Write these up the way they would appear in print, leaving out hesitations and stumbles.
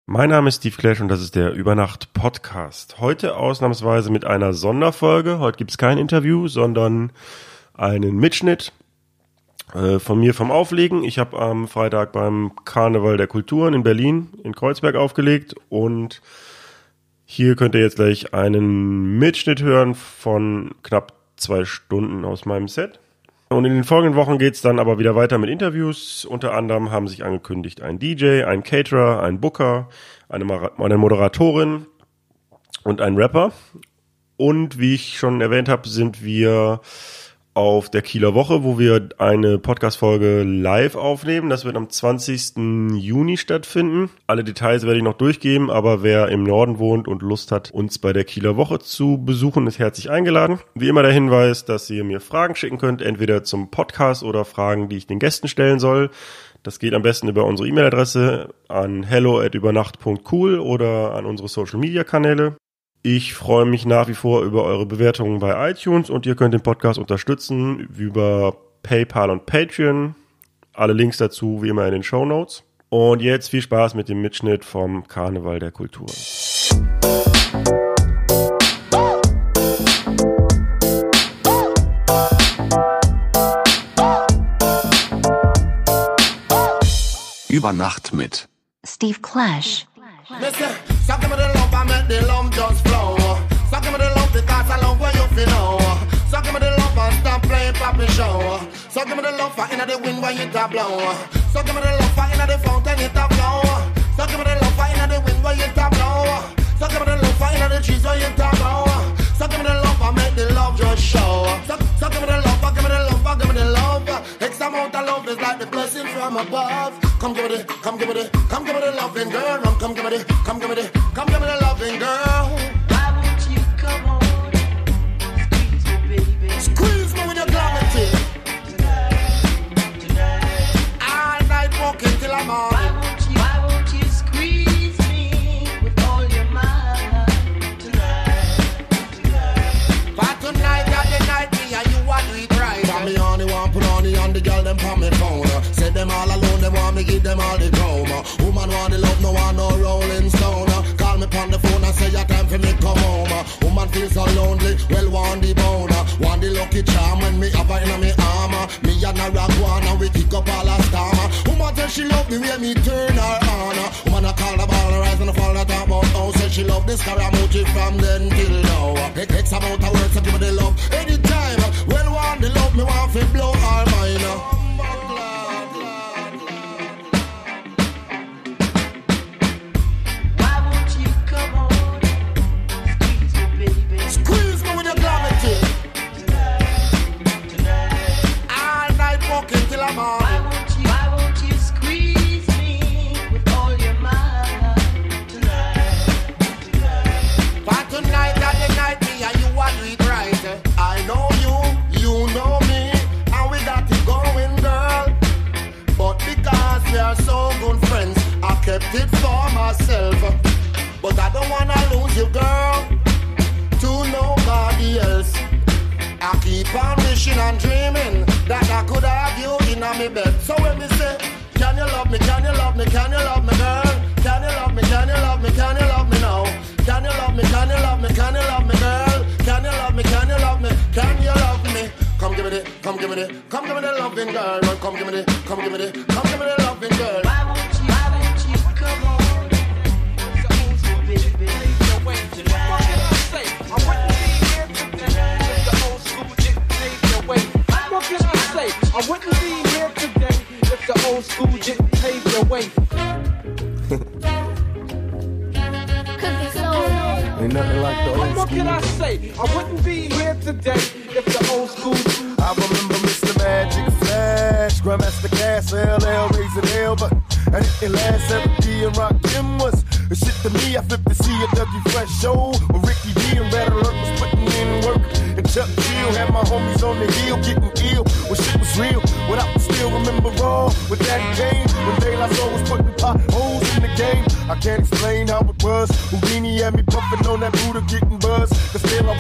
Mein Name ist Steve Clash und das ist der Übernacht-Podcast. Heute ausnahmsweise mit einer Sonderfolge. Heute gibt es kein Interview, sondern einen Mitschnitt von mir vom Auflegen. Ich habe am Freitag beim Karneval der Kulturen in Berlin in Kreuzberg aufgelegt und hier könnt ihr jetzt gleich einen Mitschnitt hören von knapp 2 Stunden aus meinem Set. Und in den folgenden Wochen geht's dann aber wieder weiter mit Interviews. Unter anderem haben sich angekündigt ein DJ, ein Caterer, ein Booker, eine Moderatorin und ein Rapper. Und wie ich schon erwähnt habe, sind wir auf der Kieler Woche, wo wir eine Podcast-Folge live aufnehmen. Das wird am 20. Juni stattfinden. Alle Details werde ich noch durchgeben, aber wer im Norden wohnt und Lust hat, uns bei der Kieler Woche zu besuchen, ist herzlich eingeladen. Wie immer der Hinweis, dass ihr mir Fragen schicken könnt, entweder zum Podcast oder Fragen, die ich den Gästen stellen soll. Das geht am besten über unsere E-Mail-Adresse an hello@übernacht.cool oder an unsere Social-Media-Kanäle. Ich freue mich nach wie vor über eure Bewertungen bei iTunes und ihr könnt den Podcast unterstützen über PayPal und Patreon. Alle Links dazu wie immer in den Shownotes. Und jetzt viel Spaß mit dem Mitschnitt vom Karneval der Kulturen. Übernacht mit Steve Clash. Listen, so give me the love, I make the love just flow. So give me the love because I love what you feel know. So give me the love and stop playing poppy show. So give me the love for inna the wind when it a blow. So give me the love for inna the fountain it a flow. So give me the love for inna the wind when it a blow. So give me the love for inna the trees when it a blow. So give me the love, I make the love just show. So give me the love, give me the love, give me the love. X amount of love is like the blessing from above. Come give me the, come give me the, come give me the loving girl. Come give me the, come give me the, come give me the loving girl. Why won't you come on? Squeeze me, baby. Squeeze me with your gravity. Tonight. All night walking till I'm on. Why won't you squeeze me with all your might? Tonight. For tonight, got the night, me and you want to eat right. For me on the one, put on the girl, them for me phone. Set them all alone, they want me give them all the chrome. Woman want the love, no one no rolling stone. Call me on the phone and say your time for me come home. Woman feel so lonely, well want the bone. Want the lucky charm when me have her in me armor. Me and a ragwana, we kick up all a storm. Woman tell she love me when me turn her on. Woman a call the ball, rise and fall that about. Oh, say she love this Scaramucci from then till now. X amount of words to give me the love anytime. Well want the love, me want to blow all mine. Why won't you squeeze me with all your might? Tonight. For tonight, that the night, me and you want to eat right. I know you, you know me, and we got it going, girl. But because we are so good friends, I kept it for myself. But I don't wanna lose you, girl, to nobody else. I keep on wishing and dreaming that I could have you in my bed. So when me say, can you love me, can you love me, can you love me, girl? Can you love me, can you love me, can you love me now? Can you love me, can you love me, can you love me, girl? Can you love me, can you love me, can you love me? Come give me the, come give me the, come give me the loving girl. Come give me the, come give me the, come give me the loving girl. Why won't you come on? Squeeze me, baby. Tonight. What can I say? I wouldn't be here today if the old school didn't pave the way. Ain't nothing like the old school. What can I say? I wouldn't be here today if the old school. I remember Mr. Magic Flash, Grandmaster Gas, LL, Raising L, but I didn't last. 7D and Rock Kim was the shit to me. I flipped to see a Dougie Fresh show with Ricky D and Red Alert was putting in work. And Chuck Chill had my homies on the hill getting ill when shit was real. What I still remember raw with that game when De La Soul was putting potholes in the game. I can't explain how it was. Houdini had me pumping on that Buddha getting buzz. Cause still I was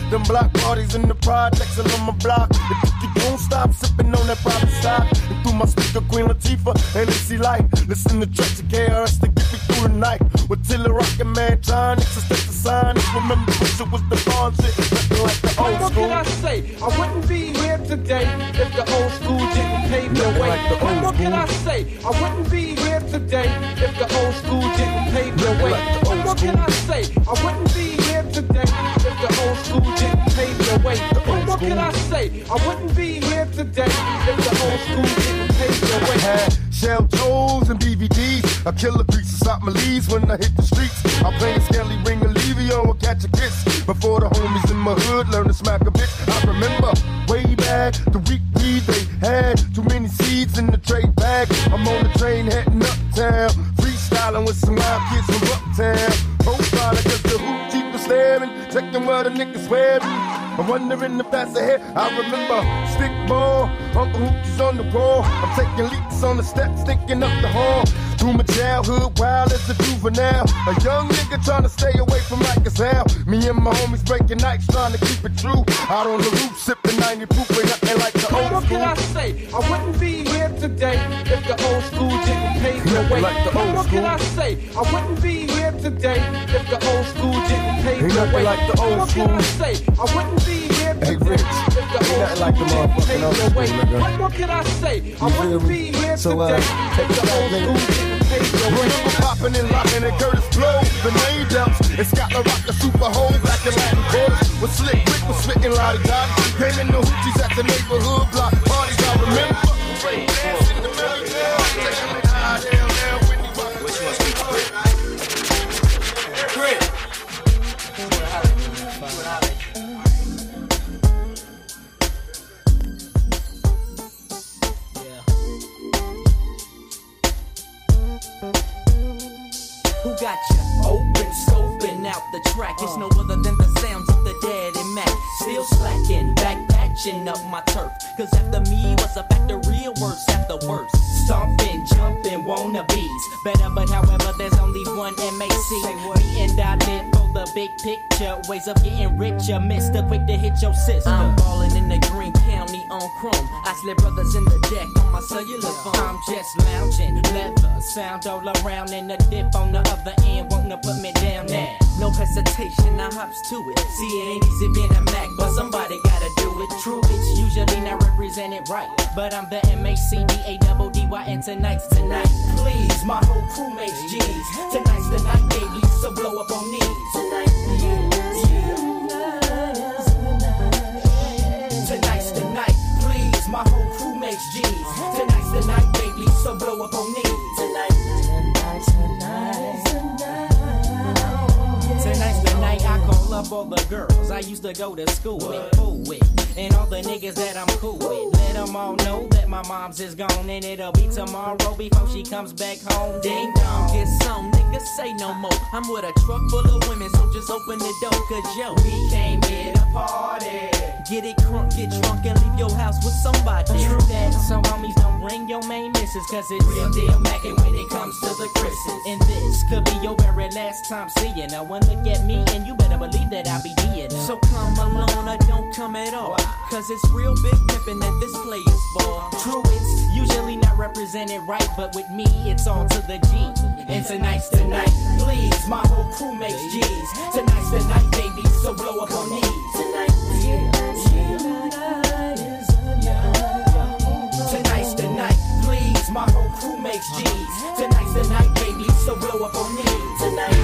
Them block parties in the projects and on my block. If you don't stop sipping on that private stock. And through my speaker, Queen Latifah and MC Light. Listen to tracks of KRS to get me through the night. With Tiller Rockin' Man, John Nixon, the sign. Remember, push it was the bond shit. Nothing like the old What school. can I say? I wouldn't be here today if the old school didn't pave the way. Like the old What can I school. say? I wouldn't be here today if the old school didn't pave the way. Like the old What can I say? I wouldn't be here today if the old school didn't pave the way. What can I say? I wouldn't be here today if the old school didn't pave the way. Had shell toes and BVDs. I kill a piece of South Malise when I hit the streets. I play a Skelly Ring Olivio and catch a kiss. Before the homies in my hood learn to smack a bitch. I remember way back the week weed they had. Too many seeds in the trade bag. I'm on the train heading uptown. Freestyling with some wild kids from uptown. Profile against the hoop, keep the staring. Checking where the niggas wearing. I'm wondering if that's ahead. I remember stick ball, Uncle Hoopie's on the wall. I'm taking leaps on the steps, thinking up the hall. Through my childhood, wild as a juvenile. A young nigga trying to stay away from Rikers Hell. Me and my homies breaking nights, trying to keep it true. Out on the roof, sipping 90 proof, ain't nothing like the old What can I school. say? I wouldn't be here today if the old school didn't pave the Nothing way. like the old What can school. I say? I wouldn't be here today if the old school didn't pave Ain't the nothing way. like the old What can I school. say? I wouldn't be here Hey, today Rich, if the ain't old nothing like the school didn't motherfucking pave old the school, way. nigga. What can I say? I You wouldn't feel be me? here So, today take if it the back, old nigga. school didn't pave the way. Remember popping and locking and Curtis Blow, the name dumps. And Scott La Rock, the super hole back in Latin quarters. With Slick Rick was spitting lottie dotty. Came in the hoochies at the neighborhood block parties. I remember. Dancing the belly down, taking it high down, when he walk. Which one's Chris. Who got you open, scoping out the track? It's no other than the sounds of the Daddy Mac. Still slacking, back patching up my turf. Cause after me was a factory of worse after worse. Stomping, jumping, wannabes. Better, but however, there's only one MAC. Me and I live for the big picture. Ways of getting richer. Mister, quick to hit your sister. I'm ballin' in the Green County on chrome. I slip brothers in the deck on my cellular phone. I'm just lounging, leather, sound all around. And the dip on the other end, wanna put me down now. No hesitation, I hops to it. See, it ain't easy being a Mac, but somebody gotta do it. True, it's usually not represented right. But I'm the MACDADDY, and tonight's tonight. Please, my whole crew makes G's. Tonight's the night, baby, so blow up on knees. Tonight, tonight's the night. Please, my whole crew makes G's. Tonight's the night, baby, so blow up on knees. Tonight's the night I call up all the girls I used to go to school with, fool with, and all the niggas that I'm cool with. Let them all know that my mom's is gone, and it'll be tomorrow before she comes back home. Ding dong, get some niggas say no more. I'm with a truck full of women, so just open the door, cause yo, we came here to party. Get it crunk, get drunk, and leave your house with somebody. True that, so homies don't bring your main missus, cause it's real deal mackin' when it comes to the Chris's. And this could be your very last time seeing her. One look at me, and you better believe that I'll be dead. So come alone or don't come at all, cause it's real big pimpin' that this play is for. True, it's usually not represented right, but with me, it's all to the G. And tonight's the night, please, my whole crew makes G's. Tonight's the night, baby, so blow up on knees. Tonight's the night, please, my whole crew makes G's. Tonight's the night, baby, so blow up on knees.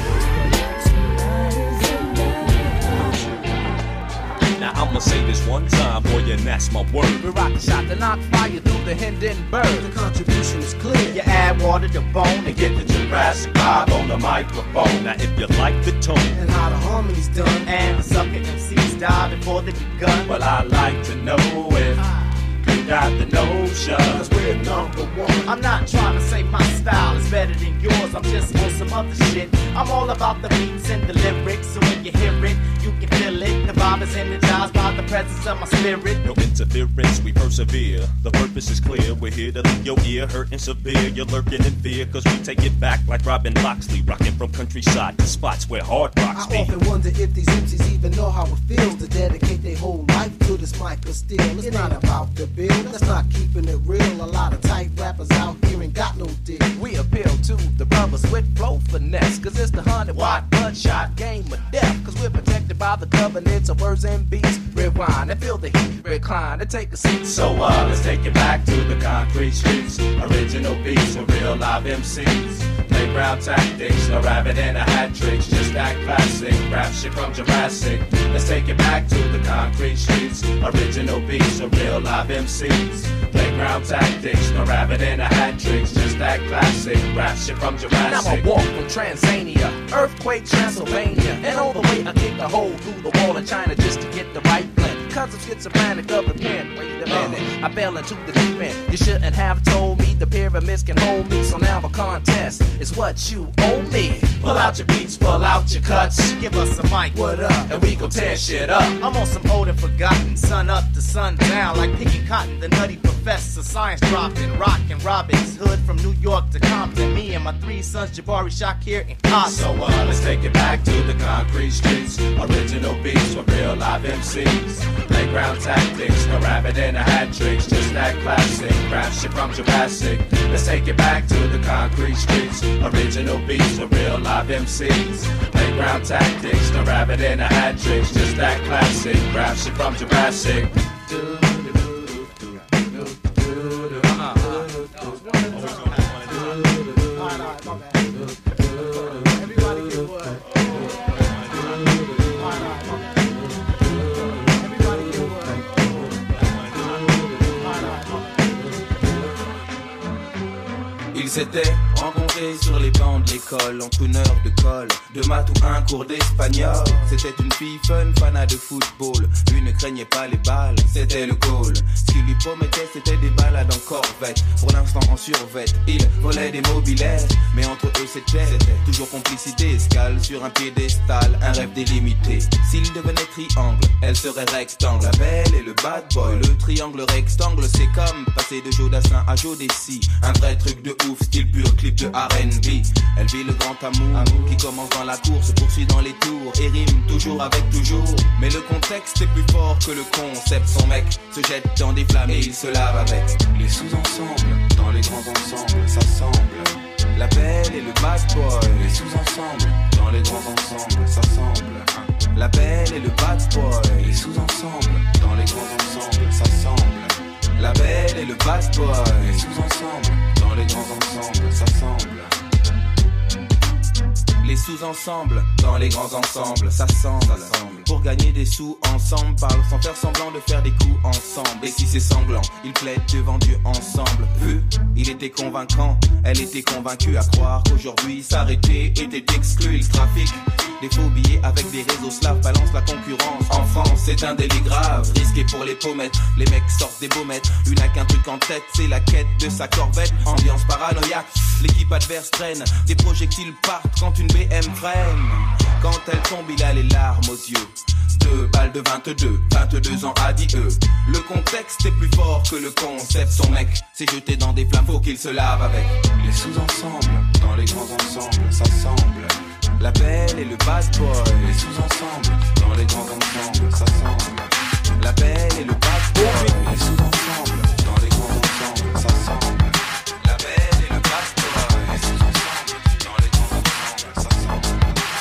Now I'ma say this one time, boy, and that's my word. We rock the shot to knock fire through the Hindenburg. The contribution is clear. You add water to bone And get the Jurassic vibe on the microphone. Now if you like the tone And how the harmony's done. and the sucker MCs die before they begun. well, I like to know if got the notion. Cause we're number one. I'm not trying to say my style is better than yours, I'm just on some other shit. I'm all about the beats and the lyrics, so when you hear it, you can feel it. The vibe is energized by the presence of my spirit. No interference, we persevere. The purpose is clear, we're here to leave your ear hurting severe. You're lurking in fear, cause we take it back like Robin Loxley, rocking from countryside to spots where hard rocks be. I often wonder if these MCs even know how it feels to dedicate their whole life to this mic of steel. It's not about the bill, that's not keeping it real. A lot of tight rappers out here ain't got no deal. We appeal to the brothers with flow finesse, cause it's the 100-watt bloodshot game of death. Cause we're protected by the covenants of words and beats. Rewind and feel the heat, recline and take a seat. So let's take it back to the concrete streets. Original beats with real live MCs. Playground tactics, no rabbit and a hat tricks. Just that classic rap shit from Jurassic. Let's take it back to the concrete streets. Original beats with real live MCs. Playground tactics, no rabbit and a hat tricks. Just that classic rap shit from Jurassic. Now I walk from Tanzania, earthquake Transylvania, and all the way I kick a hole through the wall in China just to get the right blend. Cause I'm schizophrenic of the pen. Wait a minute, I fell into the deep end. You shouldn't have told me the pyramids can hold me. So now a contest is what you owe me. Pull out your beats, pull out your cuts. Give us a mic, what up? And we gon' tear shit up. I'm on some old and forgotten, sun up to sun down, like picking cotton, the nutty professor, science dropping, rockin' Robin's Hood from New York to Compton. Me and my 3 sons, Jabari, Shakir, and Cosmo. So let's take it back to the concrete streets. Original beats with real live MCs. Playground tactics, no rabbit and a hat tricks. Just that classic rap shit from Jurassic. Let's take it back to the concrete streets. Original beats with real live MCs. Playground tactics, no rabbit and a hat tricks. Just that classic rap shit from Jurassic. Ils s'étaient rencontrés sur les bancs de l'école, entre une heure de colle, de maths ou un cours d'espagnol. C'était une fille fun, fanat de football. Lui ne craignait pas les balles, c'était le goal. Ce qu'il lui promettait, c'était des balades en corvette. Pour l'instant en survette, il volait des mobilettes. Mais entre eux c'était toujours complicité. Escale sur un piédestal, un rêve délimité. S'il devenait triangle, elle serait rectangle. La belle et le bad boy, le triangle rectangle. C'est comme passer de Jodassin à Jodeci. Un vrai truc de ouf, style pur, clip de R&B. Elle vit le grand amour qui commence dans la cour, se poursuit dans les tours et rime toujours avec toujours. Mais le contexte est plus fort que le concept. Son mec se jette dans des flammes et il se lave avec. Les sous-ensembles, dans les grands ensembles, ça semble. La belle et le bad boy. Les sous-ensembles, dans les grands ensembles, ça semble. La belle et le bad boy. Les sous-ensembles, dans les grands ensembles, ça semble. La belle et le bad boy. Les sous-ensembles, dans les grands ensembles, ça semble. Les sous-ensembles, dans les grands ensembles, ça semble. Pour gagner des sous ensemble, parle sans faire semblant de faire des coups ensemble. Et si c'est sanglant, ils plaident devant Dieu ensemble. Il était convaincant, elle était convaincue à croire qu'aujourd'hui s'arrêter était exclu. Il trafique des faux billets avec des réseaux slaves, balance la concurrence. En France, c'est un délit grave, risqué pour les pommettes. Les mecs sortent des baumettes, une a qu'un truc en tête, c'est la quête de sa corvette. Ambiance paranoïaque, l'équipe adverse traîne, des projectiles partent quand une BM freine. Quand elle tombe, il a les larmes aux yeux. 2 balles de 22 ans a dit eux. Le contexte est plus fort que le concept. Son mec s'est jeté dans des flammes, faut qu'il se lave avec. Les sous-ensembles, dans les grands ensembles, ça semble. La belle et le bad boy. Les sous-ensembles, dans les grands ensembles, ça semble. La belle et le bad boy. Les sous-ensembles, dans les grands ensembles, ça semble. La belle et le bad boy. Les sous-ensembles, dans les grands ensembles, ça semble.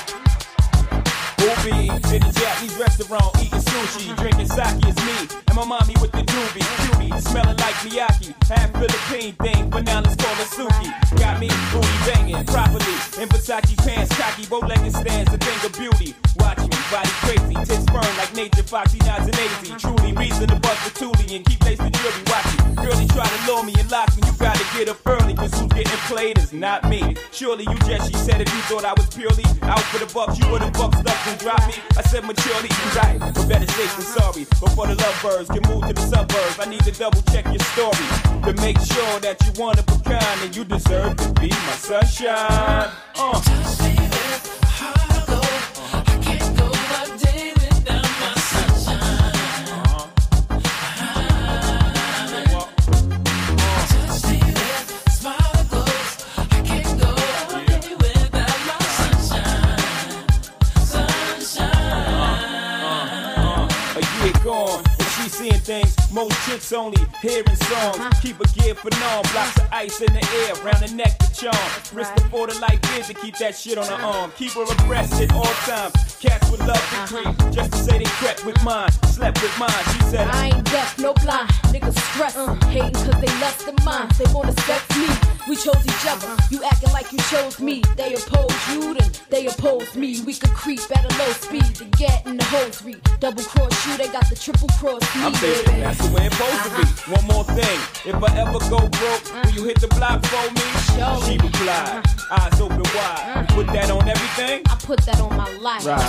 Booby, in the Japanese restaurant, eating sushi, drinking sake is me, and my mommy with the doobie, cutie, smelling like Miyake, half Philippine thing, but now let's call her Suki. Got me booty banging properly, in Versace pants, cocky, bow-legged stands, a thing of beauty. Watch me, body crazy, tits firm like Nature Fox, she nods and lazy, truly reason to bust the toolie and keep lacing jewelry. Watch it, girlie try to lure me and lock me, you gotta get up early, cause who's getting played is not me. Surely you just, she said, if you thought I was purely out for the bucks, you would've bucked up and dropped me. I said maturely, you right, but better safe than sorry. Before the lovebirds can move to the suburbs, I need to double check your story to make sure that you one of a kind and you deserve to be my sunshine. Seeing things, most chicks only hearing songs. Keep a gear for norm, blocks of ice in the air, round the neck to charm. Risk before the light is to keep that shit on her arm. Keep her abreast at all times. Cats would love to creep, just to say they crept with mine, slept with mine. She said, I ain't deaf, no blind. Niggas stress, hating cause they less than mine. They wanna sex me, we chose each other. You acting like you chose me. They oppose you, then they oppose me. We could creep at a low speed to get in the hosiery. Double cross you, they got the triple cross me. I'm thinking that's the way it's supposed to be. One more thing, if I ever go broke, will you hit the block for me? She replied, eyes open wide. You put that on everything? I put that on my life. Right.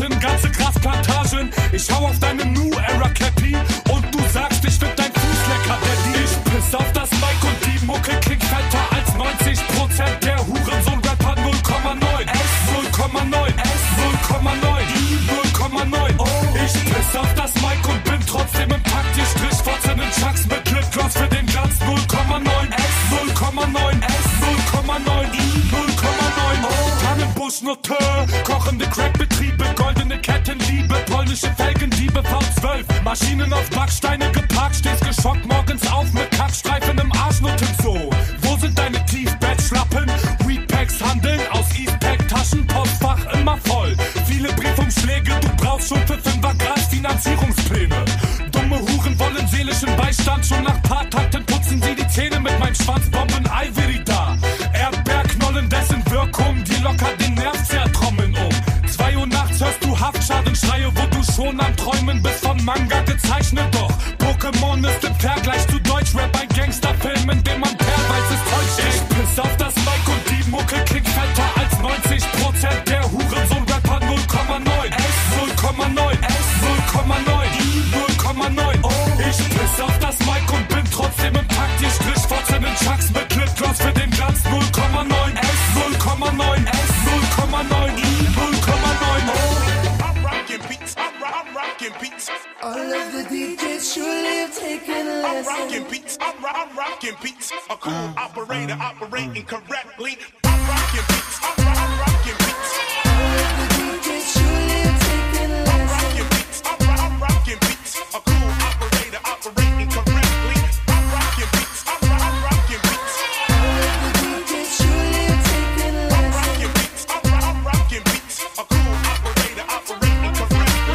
Klamotten, ganze Grasplantagen. Ich hau auf deine New Era Cappy und du sagst, ich find dein Fuß lecker, Daddy. Ich piss auf das Mic und die Mucke klingt fetter als 90% der Hurensohn-Rapper 0,9. 0,9, 0,9, 0,9. Ich piss auf das Mic und bin trotzdem im Takt. Ihr Strichfotzen in Chucks mit Lipgloss für den Glanz. 0,9, 0,9, 0,9, 0,9. Tannenbuschnote, kochende Crackbetriebe, goldene Kettenliebe, polnische Felgendiebe, V12, Maschinen auf Backsteine geparkt, stehst geschockt morgens auf mit Kackstreifen im Arschnutten so. Wo sind deine Tiefbettschlappen? Weedpacks handeln aus Eastpack-Taschen, Postfach immer voll. Viele Briefumschläge, du brauchst schon für 5er Gras Finanzierungspläne. Dumme Huren wollen seelischen Beistand, schon nach paar Takten putzen sie die Zähne mit meinem Schwanzbomben Ivory da. Erdbeerknollen, dessen Wirkung, die locker den Nerv zertrommeln um. 2 Uhr nachts hörst du Haftschadenschreie, wo du schon am Träumen bist von Manga gezeichnet. Doch Pokémon ist im Vergleich zu Deutschrap ein Gangsterfilm, in dem man perweises Zeug steht. Ich piss auf das Mic und die Mucke klingt fetter als 90% der Hurensohn-Rapper 0,9. 0,9, 0,9, 0,9. Ich piss auf das Mic und bin trotzdem im Takt. Ihr Strichfotzen in Chucks mit Lipgloss für den Glanz. 0,9, 0,9, 0,9. All of the DJs surely have taken a lesson. I'm rocking beats. A cool operator operating correctly. I'm rocking beats. I'm rocking beats. All of the DJs surely have taken a lesson. I'm rocking beats. A cool operator operating correctly. I'm rocking beats. I'm rocking beats. All of the DJs surely have taken a lesson. I'm rocking beats. A cool operator operating correctly.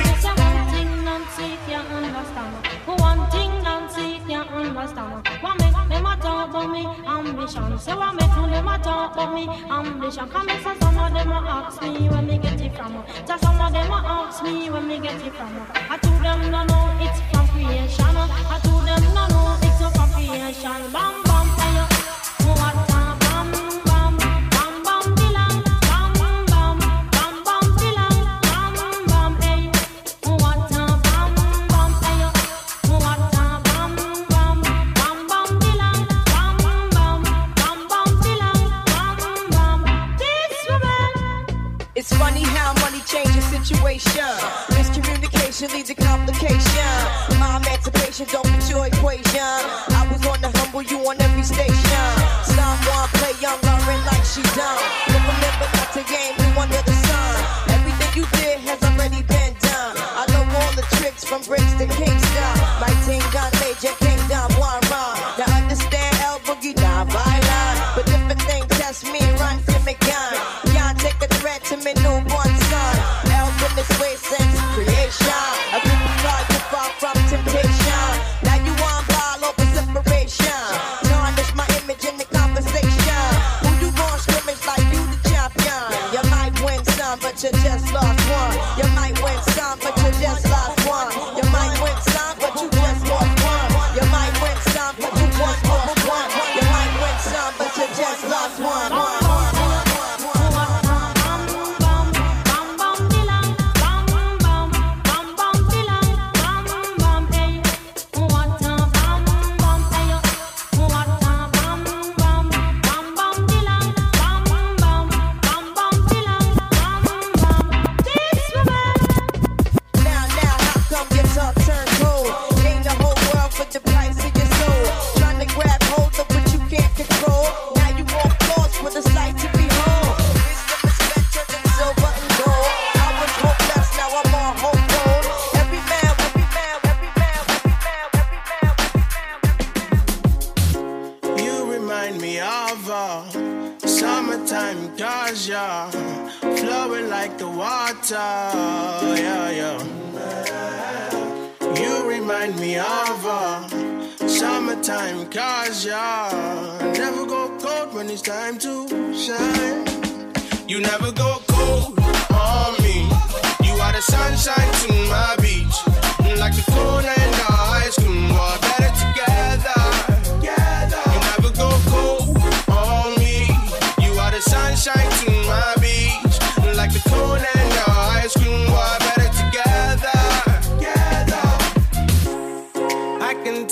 One thing Nancy can't understand. What make them a talk about me ambition? Say what make them a talk about me ambition? Come and say some of them a ask me where me get it from. Say some of them a ask me where me get it from. I told them no it's from creation. I told them no it's from creation. Bam bam fire. What a bam bam bam bam dilang. Bam bam bam bam dilang. Bam bam hey. What a bam bam fire. What a bam bam bam bam dilang. Bam bam bam bam dilang. Bam bam. This woman. It's funny how money changes situation. Miscommunication leads to complication. My emancipation don't fit your equation. I was on the humble, you on every station. Someone play young, Lauren like she done. But remember not to game, you under the sun. Everything you did has already been done. I know all the tricks from bricks to Kingston. My team gun, Major Kingdom, one run. Now understand El Boogie, not violent. But different things test me, run to me gun. Can't take a threat to me newborn son. El been this way since creation. A group of God, you far from temptation. Now you on ball over separation. Tarnish my image in the conversation. Who you gon' scrimmage like you the champion? You might win some, but you just lost one. You might win some, but you just lost one. You might win some, but you just lost one. You might win some, but you won over one. You might win some, but you just lost one. Flowing like the water, yeah, yeah. You remind me of summertime cause, yeah. Never go cold when it's time to shine. You never go cold on me. You are the sunshine to my beach. Like the corner in the ice cream, we're better together. You never go cold on me. You are the sunshine to my beach. Like the corner in the ice cream, we're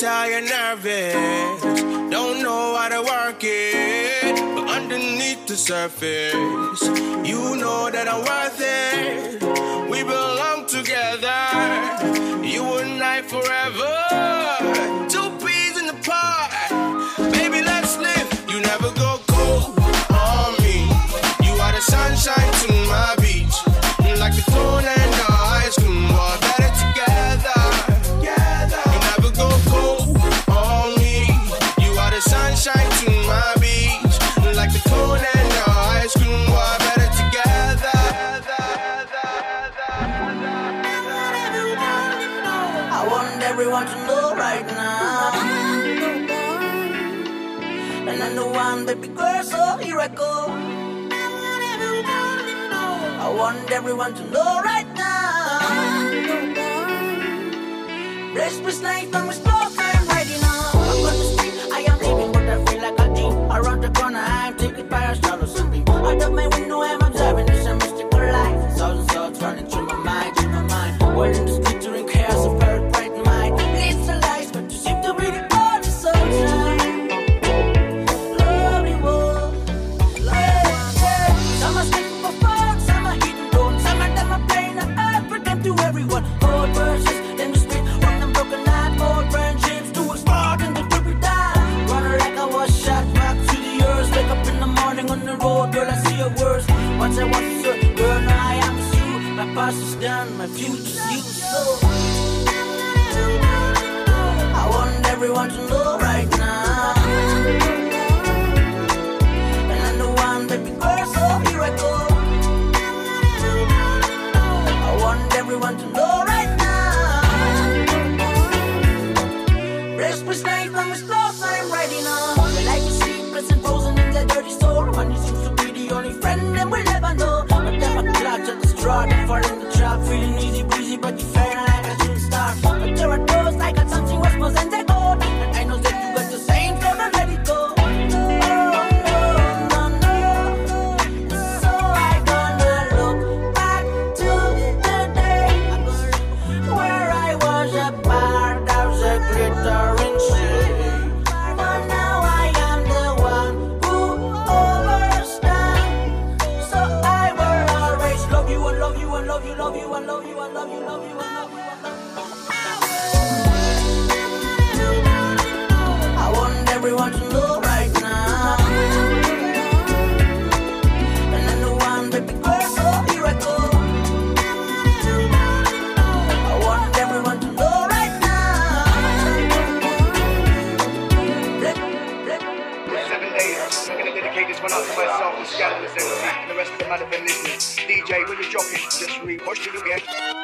how you're nervous. Don't know how to work it, but underneath the surface, you know that I'm worth it. We belong together, you and I forever. Two peas in the pot, baby, let's live. You never go cold on me. You are the sunshine to my beach, like the corn and the ice cream. We're better together. You never go cold on me. You are the sunshine to my beach, like the corn and the ice cream. We're better together. I want everyone to know right now. And I'm the one, baby girl, so here I go. I want everyone to know right now. Restless night when we slow time riding on. I'm on the street, I am leaving, but I feel like a dream. Around the corner, I'm taken by a shadow sunbeam. Out of my window, I'm observing this mystical life. Thousand thoughts running through my mind, World in the street during chaos of very bright mind. Leads the lights, but you seem to be the only sunshine. Lovely world, yeah. Some are sleeping for fun, some are eating bones, some of them are playing a earth, pretend to everyone. Old verses, then we spit from them broken heart, old friendships to explode and to be down. Running like I was shot back to the earth, wake up in the morning on the road, girl, I see your words. Once I was a girl, now I am with you. My past is done, my future's you. So I want everyone to know right now. And I'm the one, baby girl, so here I go. I want everyone to know right now. Restless night when we slow time riding on. The life is sleepless and frozen in the dirty soul. Money seems to be the only friend that we'll ever know. But them a clutch at the straw, they fall in the trap. Feeling easy breezy, but you feel like a shooting star. But there are those like got something worse more than they go. And I know that you got the same, so don't let it go. Oh, no. So I gonna look back to the day where I was a part of the glittering sea. But now I am the one who overstands. So I will always love you and love you and love you, love you and love you and love you, love you and love you and love you. I want everyone to know right now. And I'm the one, baby girl, so here I go. I want everyone to know right now. 7 days, I'm gonna dedicate this one out to myself, the scandalous and the rest of them might have been listening. DJ, when you're jockey, just repush it again.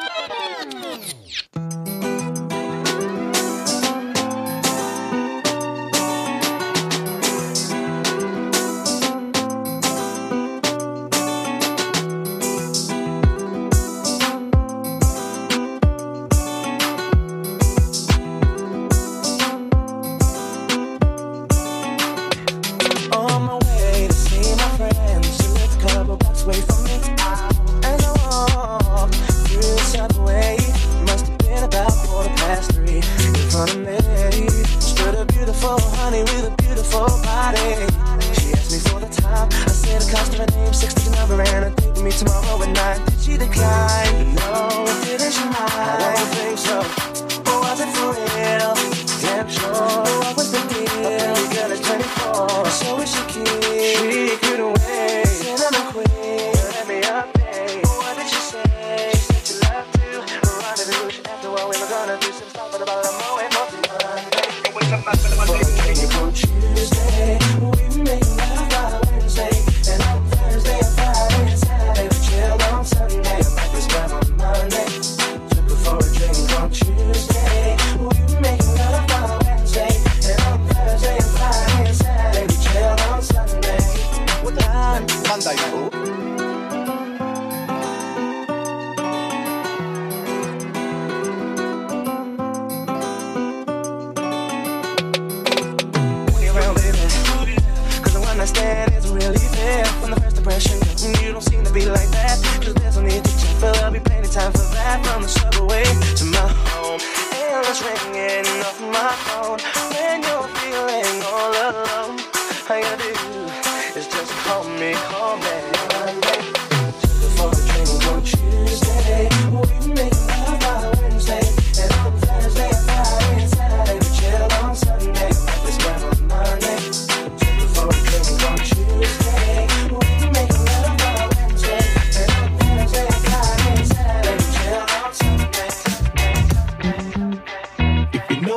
On my way to see my friends, she lived a couple blocks away from me. As I walk through the subway, must have been about 3:15. In front of me stood a beautiful honey with a beautiful body. She asked me for the time. I said the cost of her name, 60 number, and a date with me tomorrow at 9. Did she decline? No, didn't she mind? I don't think so. But was it for real? Damn sure. What was the deal? A pretty girl is 24, so is she cute? She couldn't wait. Cinnamon queen, let me update. What did she say? She said she loved to rendezvous. After all, we were gonna do some stuff, but about a moment, nothing Monday. On Tuesday, we make love by Wednesday, and on Thursday and Friday and Saturday we chilled on Sunday. I might just grab on Monday, took her for a drink on Tuesday. We make love by Wednesday, and on Thursday and Friday and Saturday we chilled on Sunday. What time? Monday, fool.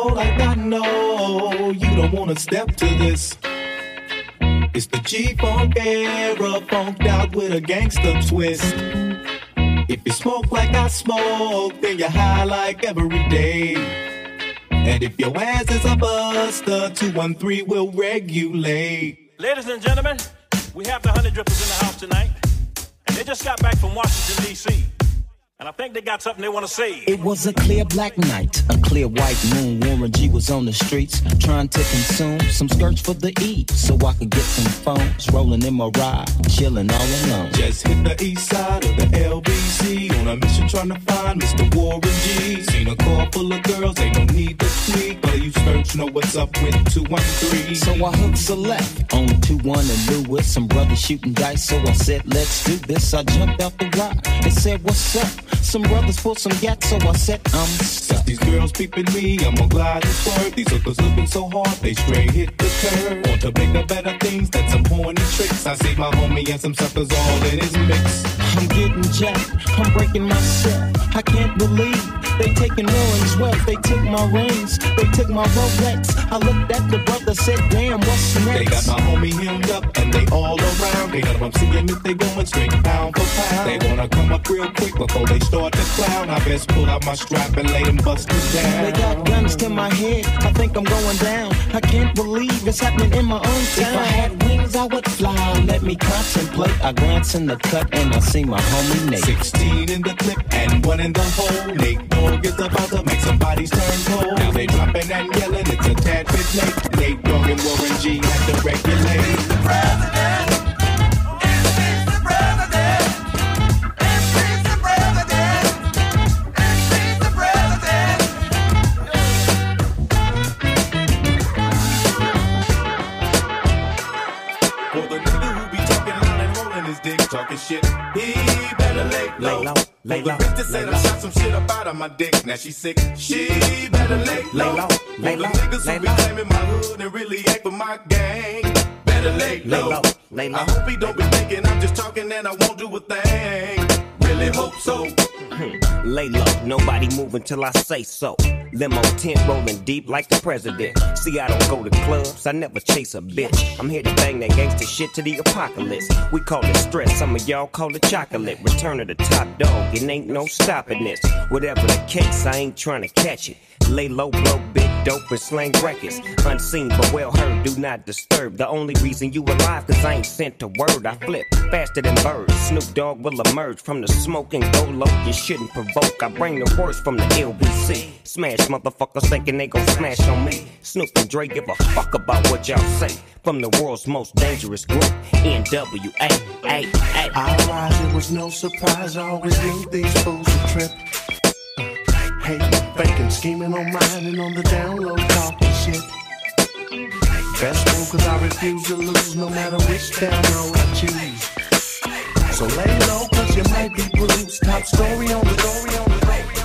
like I know you don't wanna step to this. It's the G-Funk era, funked out with a gangster twist. If you smoke like I smoke, then you're high like every day. And if your ass is a buster, 213 will regulate. Ladies and gentlemen, we have the Honey Drippers in the house tonight. And they just got back from Washington, D.C. And I think they got something they want to say. It was a clear black night, a clear white moon. Warren G was on the streets trying to consume some skirts for the E, so I could get some phones. Rolling in my ride, chilling all alone. Just hit the east side of the LBC on a mission trying to find Mr. Warren G. Seen a car full of girls, ain't no need to tweak. But you search, know what's up with 213. So I hooked a left on 21 and Lewis. Some brothers shooting dice, so I said, let's do this. I jumped out the ride and said, what's up? Some brothers pulled some gas, so I said, I'm stuck. These girls peeping me, I'm gonna glide and swerve. These hookers looking so hard, they straight hit the curve. Want to bigger, better things than some horny tricks. I see my homie and some suckers all in his mix. I'm getting jacked, I'm breaking myself. I can't believe they taking Warren's wealth. They took my rings, they took my Rolex. I looked at the brother, said, damn, what's next? They got my homie hemmed up and they all around. They know I'm seeing if they going straight pound for pound. They wanna come up real quick before they start to clown. I best pull out my strap and lay them busters down. They got guns to my head, I think I'm going down. I can't believe it's happening in my own town. If I had wings, I would fly. Let me contemplate. I glance in the cut and I see my homie Nate. 16 in the clip and 1 in the hole. Nate Dogg is about to make some bodies turn cold. Now they dropping and yelling, it's a tad bit late. Nate Dogg and Warren G had to regulate. The president. Talking shit, he better lay low. Lay low. The bitch that said I shot some shit up out of my dick. Now she sick, she better lay low. Lay low. The niggas who be claiming my hood and really ain't for my gang. Better lay low. I hope he don't be thinking I'm just talking and I won't do a thing. Really hope so. Lay low, nobody moving till I say so. Limo tent rolling deep like the president. See, I don't go to clubs, I never chase a bitch. I'm here to bang that gangster shit to the apocalypse. We call it stress, some of y'all call it chocolate. Return of the top dog, it ain't no stopping this. Whatever the case, I ain't trying to catch it. Lay low, blow big dope and slang records. Unseen but well heard, do not disturb. The only reason you alive, cause I ain't sent a word. I flip faster than birds. Snoop Dogg will emerge from the smoke and go low. You shouldn't provoke, I bring the worst from the LBC. Smash motherfuckers thinking they gon' smash on me. Snoop and Dre give a fuck about what y'all say. From the world's most dangerous group, NWA. I rise, it was no surprise. I always knew these fools would trip. Hating, faking, scheming on mine and on the down low, talking shit. Best move cause I refuse to lose no matter which down low I choose. So lay low cause you might be bruised. Top story on the story on the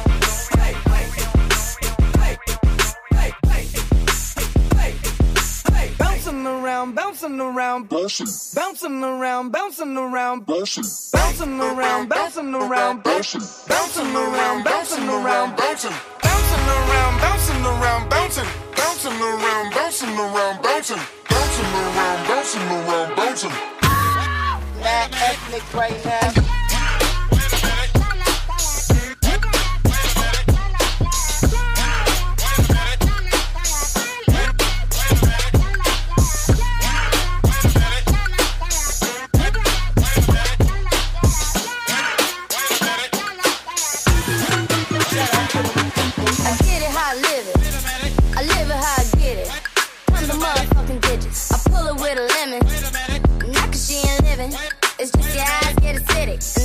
Bouncing around, bouncing around, bouncing around, bouncing around, bouncing around, bouncing around, bouncing around, bouncing around, bouncing around, bouncing around, bouncing around, bouncing around, bouncing around, bouncing around, bouncing. Mad ethnic right now. It's just your eyes get acidic.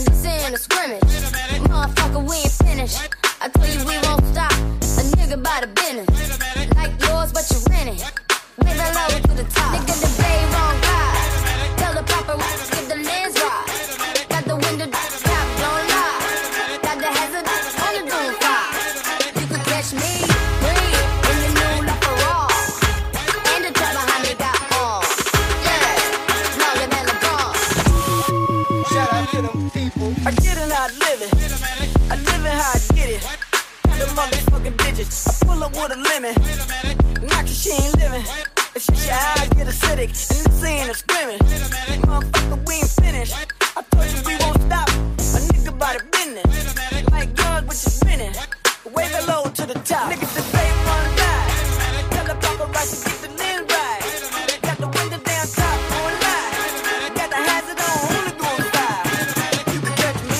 pull up with a lemon. Knock she ain't living. If she eyes get acidic, and this ain't a scrimmage. Motherfucker, we ain't finished. I told you we won't stop. A nigga by the business. Like guns with your spinning. Wave it low to the top. Niggas that say run ride. Tell the paparazzi get the lens right. Got the window down top on live. Got the hazard on, only going fire. You can catch me.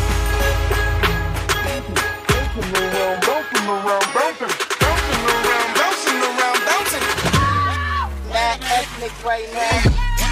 Bouncing around, bouncing around, bouncing around, bouncing. Mad ethnic right now.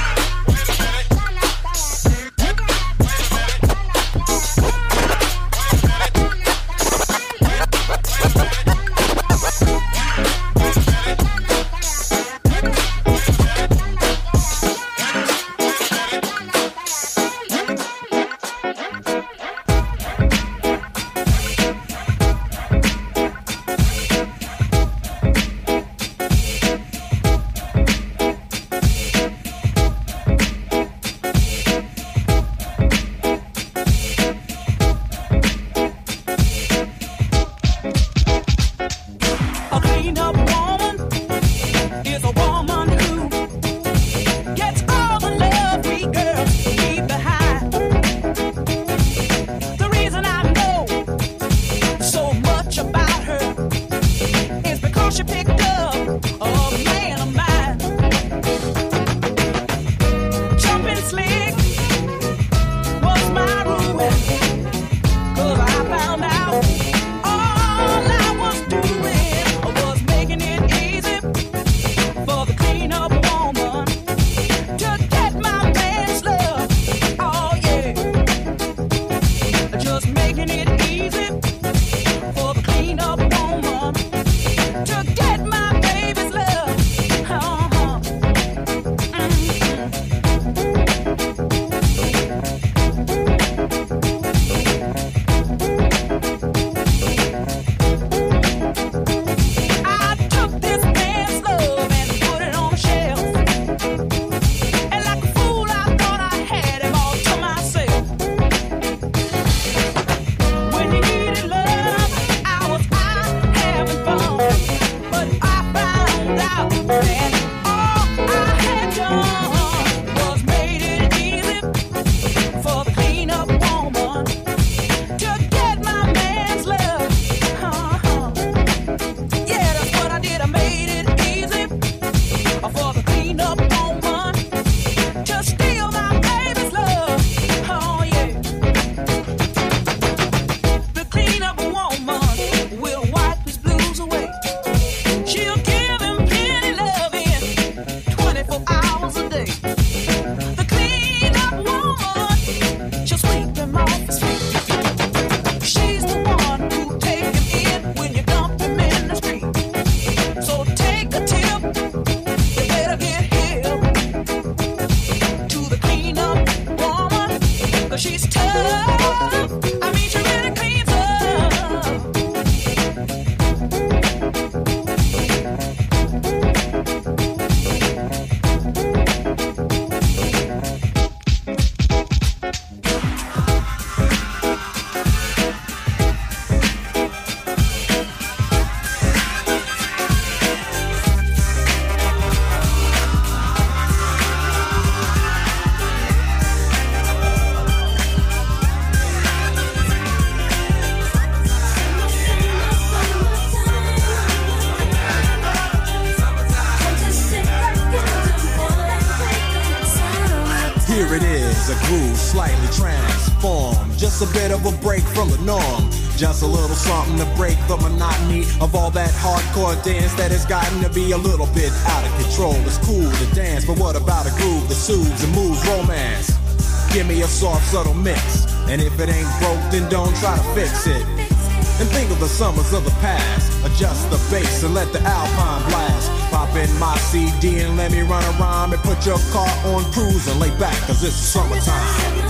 Here it is, a groove slightly transformed. Just a bit of a break from the norm. Just a little something to break the monotony of all that hardcore dance that has gotten to be a little bit out of control. It's cool to dance, but what about a groove that soothes and moves romance? Give me a soft, subtle mix, and if it ain't broke, then don't try to fix it. And think of the summers of the past. Adjust the bass and let the Alpine blast. Pop in my CD and let me run a rhyme and put your car on cruise and lay back, cause it's summertime.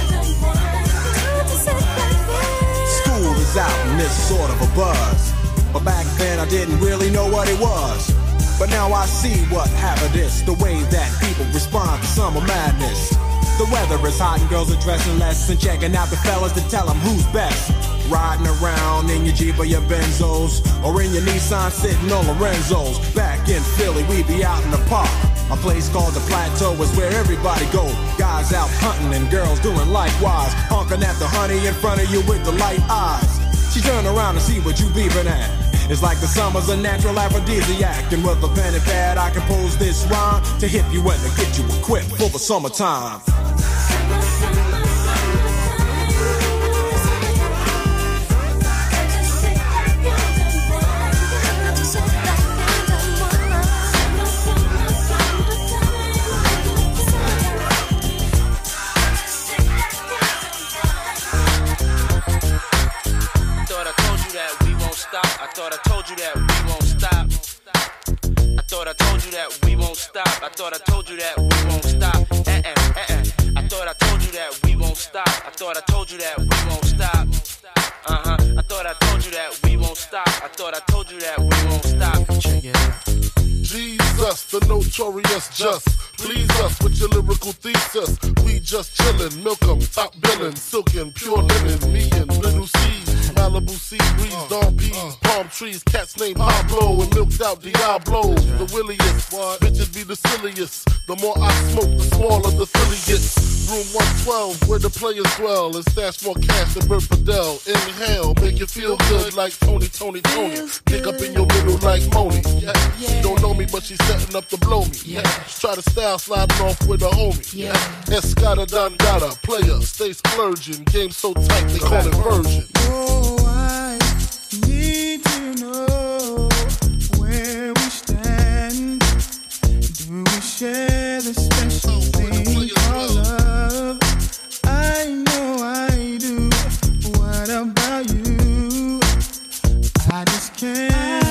Out in this sort of a buzz, But back then I didn't really know what it was. But now I see what happened is the way that people respond to summer madness. The weather is hot and girls are dressing less and checking out the fellas to tell them who's best. Riding around in your Jeep or your Benzos, or in your Nissan sitting on Lorenzo's. Back in Philly, we be out in the park. A place called the Plateau is where everybody go. Guys out hunting and girls doing likewise. Honking at the honey in front of you with the light eyes. She turn around and see what you beeping at. It's like the summer's a natural aphrodisiac. And with a pen and pad I compose this rhyme to hit you and to get you equipped for the summertime. I thought I told you that we won't stop. I thought I told you that we won't stop. I thought I told you that we won't stop. I thought I told you that we won't stop. I thought I told you that we won't stop. I thought I told you that we won't stop. I thought I told you that we won't stop. Check it out. Jesus, the notorious just. Please us with your lyrical thesis. We just chillin', milk 'em, top billin', silkin', pure linen, me and Little C. Malibu sea breeze, dawn peas, palm trees, cats named Pablo and milked out Diablo. The williest, bitches be the silliest. The more I smoke, the smaller the silly gets. Room 112, where the players dwell, and stash more cash than Bert Fidel. Inhale, make you feel good like Tony. Pick up in your middle like Moni. Yeah. She don't know me, but she's setting up to blow me. Yeah. Try to style sliding off with a homie. Yeah. Escada Dangada, player, stay splurging. Game so tight, they call it version. I need to know where we stand. Do we share the special thing called love? I know I do. What about you? I just can't.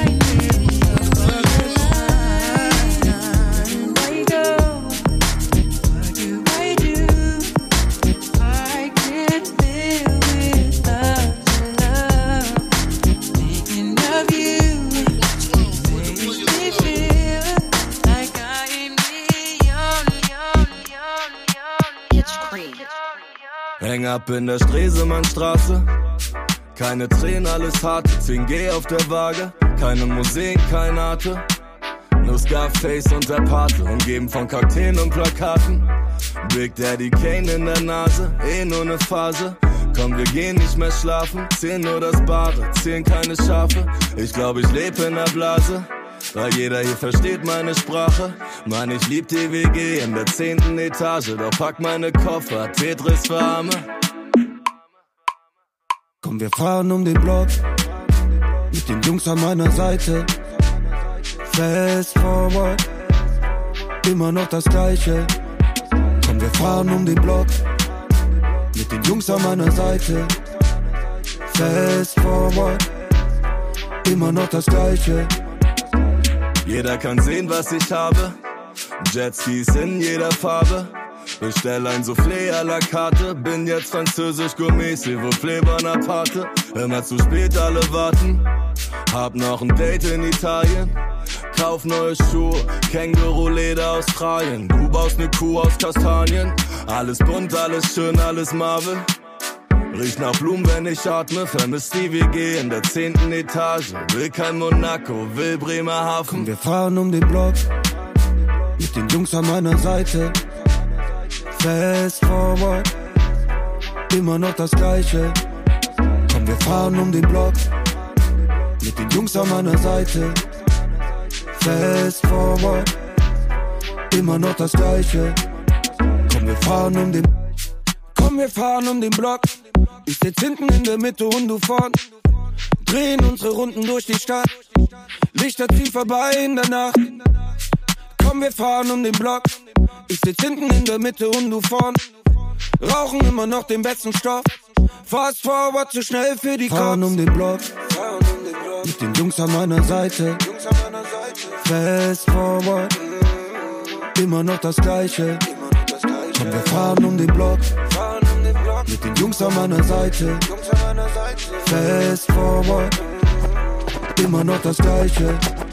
Häng ab in der Stresemannstraße. Keine Tränen, alles hart. 10G auf der Waage. Keine Musik, kein Arte. Nur Scarface und der Pate. Umgeben von Kakteen und Plakaten. Big Daddy Kane in der Nase. Nur ne Phase. Komm, wir gehen nicht mehr schlafen. 10 nur das Bare, 10 keine Schafe. Ich glaub, ich leb in der Blase. Weil jeder hier versteht meine Sprache. Mann, ich lieb die WG in der 10. Etage. Doch pack meine Koffer, Tetris für Arme. Komm, wir fahren um den Block. Mit den Jungs an meiner Seite. Fast forward. Immer noch das Gleiche. Komm, wir fahren um den Block. Mit den Jungs an meiner Seite. Fast forward. Immer noch das Gleiche. Jeder kann sehen, was ich habe. Jetskis in jeder Farbe. Bestell ein Soufflé à la carte. Bin jetzt französisch Gourmet, s'il vous plaît, Bonaparte. Immer zu spät, alle warten. Hab noch ein Date in Italien. Kauf neue Schuhe, Känguru-Leder Australien. Du baust ne Kuh aus Kastanien. Alles bunt, alles schön, alles Marvel. Riecht nach Blumen, wenn ich atme. Vermisst die WG in der 10. Etage. Will kein Monaco, will Bremerhaven. Komm, wir fahren um den Block. Mit den Jungs an meiner Seite. Fast forward. Immer noch das Gleiche. Komm, wir fahren um den Block. Mit den Jungs an meiner Seite. Fast forward. Immer noch das Gleiche. Komm, wir fahren um den Block. Komm, wir fahren um den Block. Ich sitz hinten in der Mitte und du vorn. Drehen unsere Runden durch die Stadt. Lichter ziehen vorbei in der Nacht. Komm, wir fahren um den Block. Ich sitz hinten in der Mitte und du vorn. Rauchen immer noch den besten Stoff. Fast forward, zu schnell für die Cops. Fahren um den Block. Mit den Jungs an meiner Seite. Fast forward. Immer noch das Gleiche. Komm, wir fahren um den Block. Mit den Jungs an meiner Seite. Fast forward. immer noch das Gleiche.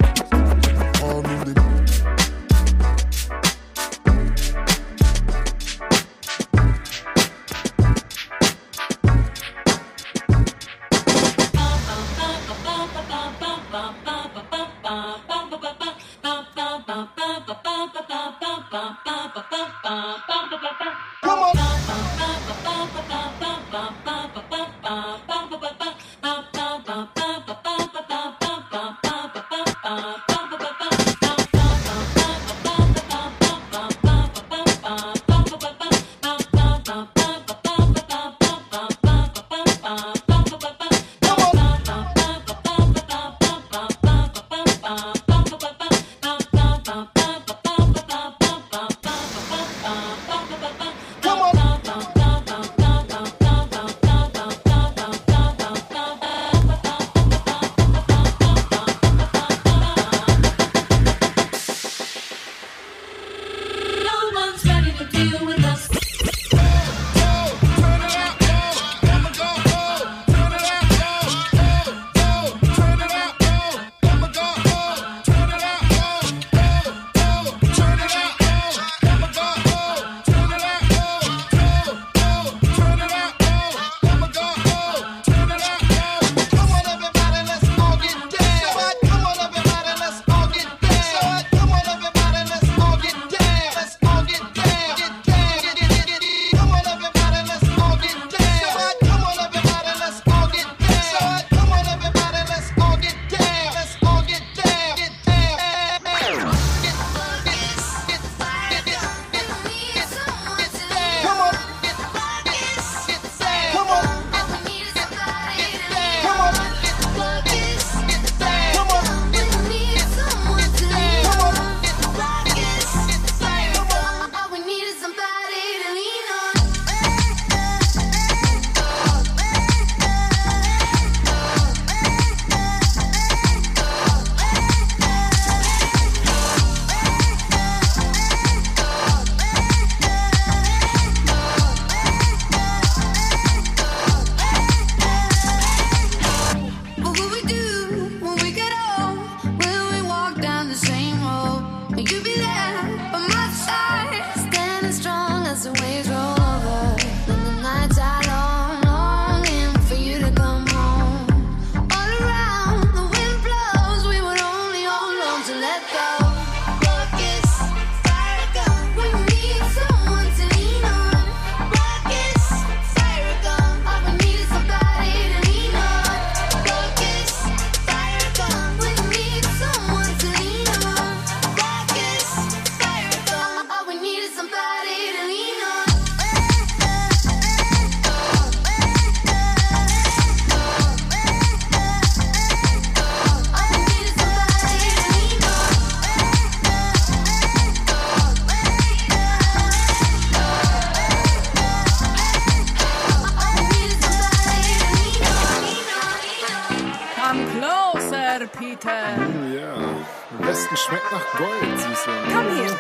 Schmeckt nach Gold, Süße. Come here,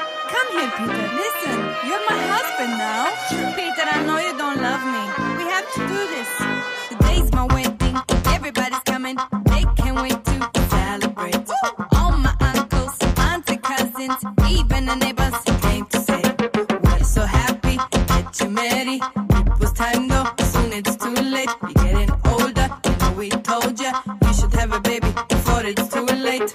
Peter. Listen, you're my husband now. Peter, I know you don't love me. We have to do this. Today's my wedding. Everybody's coming. They can't wait to celebrate. All my uncles, auntie, cousins, even the neighbors came to say, we're so happy that you're married. It was time though, soon it's too late. You're getting older, you know we told you should have a baby before it's too late.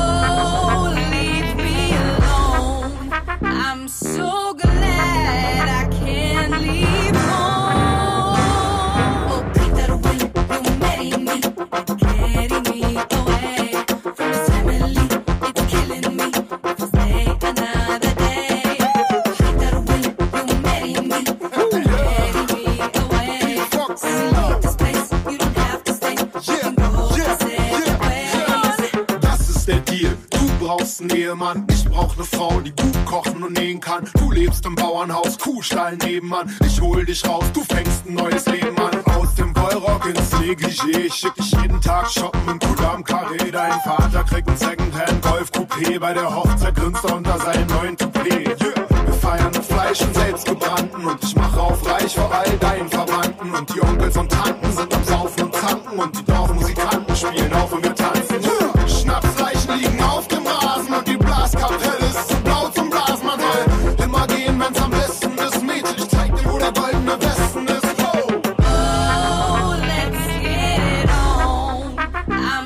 Oh, leave me alone. I'm so glad I can't leave home. Oh, Peter, will you marry me? It's carrying me away from this family. It's killing me. If I stay another day. Peter, will you marry me? Carry me away. So we leave this place. You don't have to stay. You can go separate ways. Das ist der Deal. Du brauchst einen Ehemann, ich brauch ne Frau, die gut kochen und nähen kann. Du lebst im Bauernhaus, Kuhstall nebenan. Ich hol dich raus, du fängst ein neues Leben an. Aus dem Wollrock ins Negligé, ich schick dich jeden Tag shoppen im Kudam Carré. Dein Vater kriegt ein Secondhand Golf Coupé. Bei der Hochzeit grinst er unter seinem neuen Toupet. Wir feiern mit Fleisch und selbstgebrannten und ich mache auf reich vor all deinen Verwandten. Und die Onkels und Tanten sind am Saufen und Zanken und die Dorfmusikanten spielen auf und wir tanzen.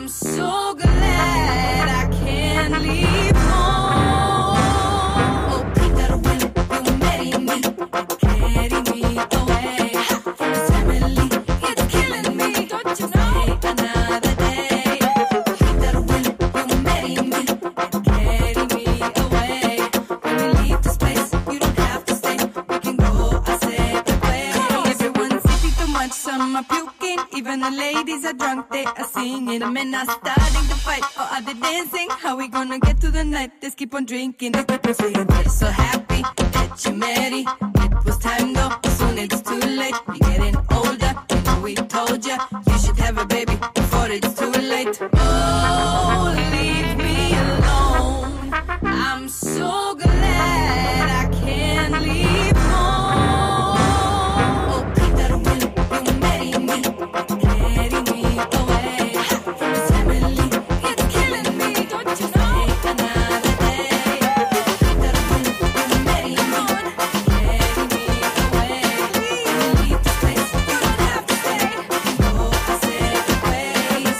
so glad I can't leave home. Oh, Peter, when you marry me, carry me away. This family is killing me, don't you know? Another day. Peter, when you marry me, carry me away. When we leave this place, you don't have to stay. We can go our separate ways. Everyone's eating too much, some are puking. Even the ladies are drunk, they are singing. The men are starting to fight, or are they dancing? How we gonna get to the night? Let's keep on drinking. They keep on saying they're so happy that you married. It was time though, soon it's too late. You're getting older, you know we told ya. You should have a baby before it's too late. Oh, leave me alone. I'm so glad I can't leave home. Oh, Peter, when you marry me, carry me away. This family is killing me, don't you know? Another day. Peter, when you marry me, carry me away. When we leave this place, you don't have to stay. We can go our separate ways.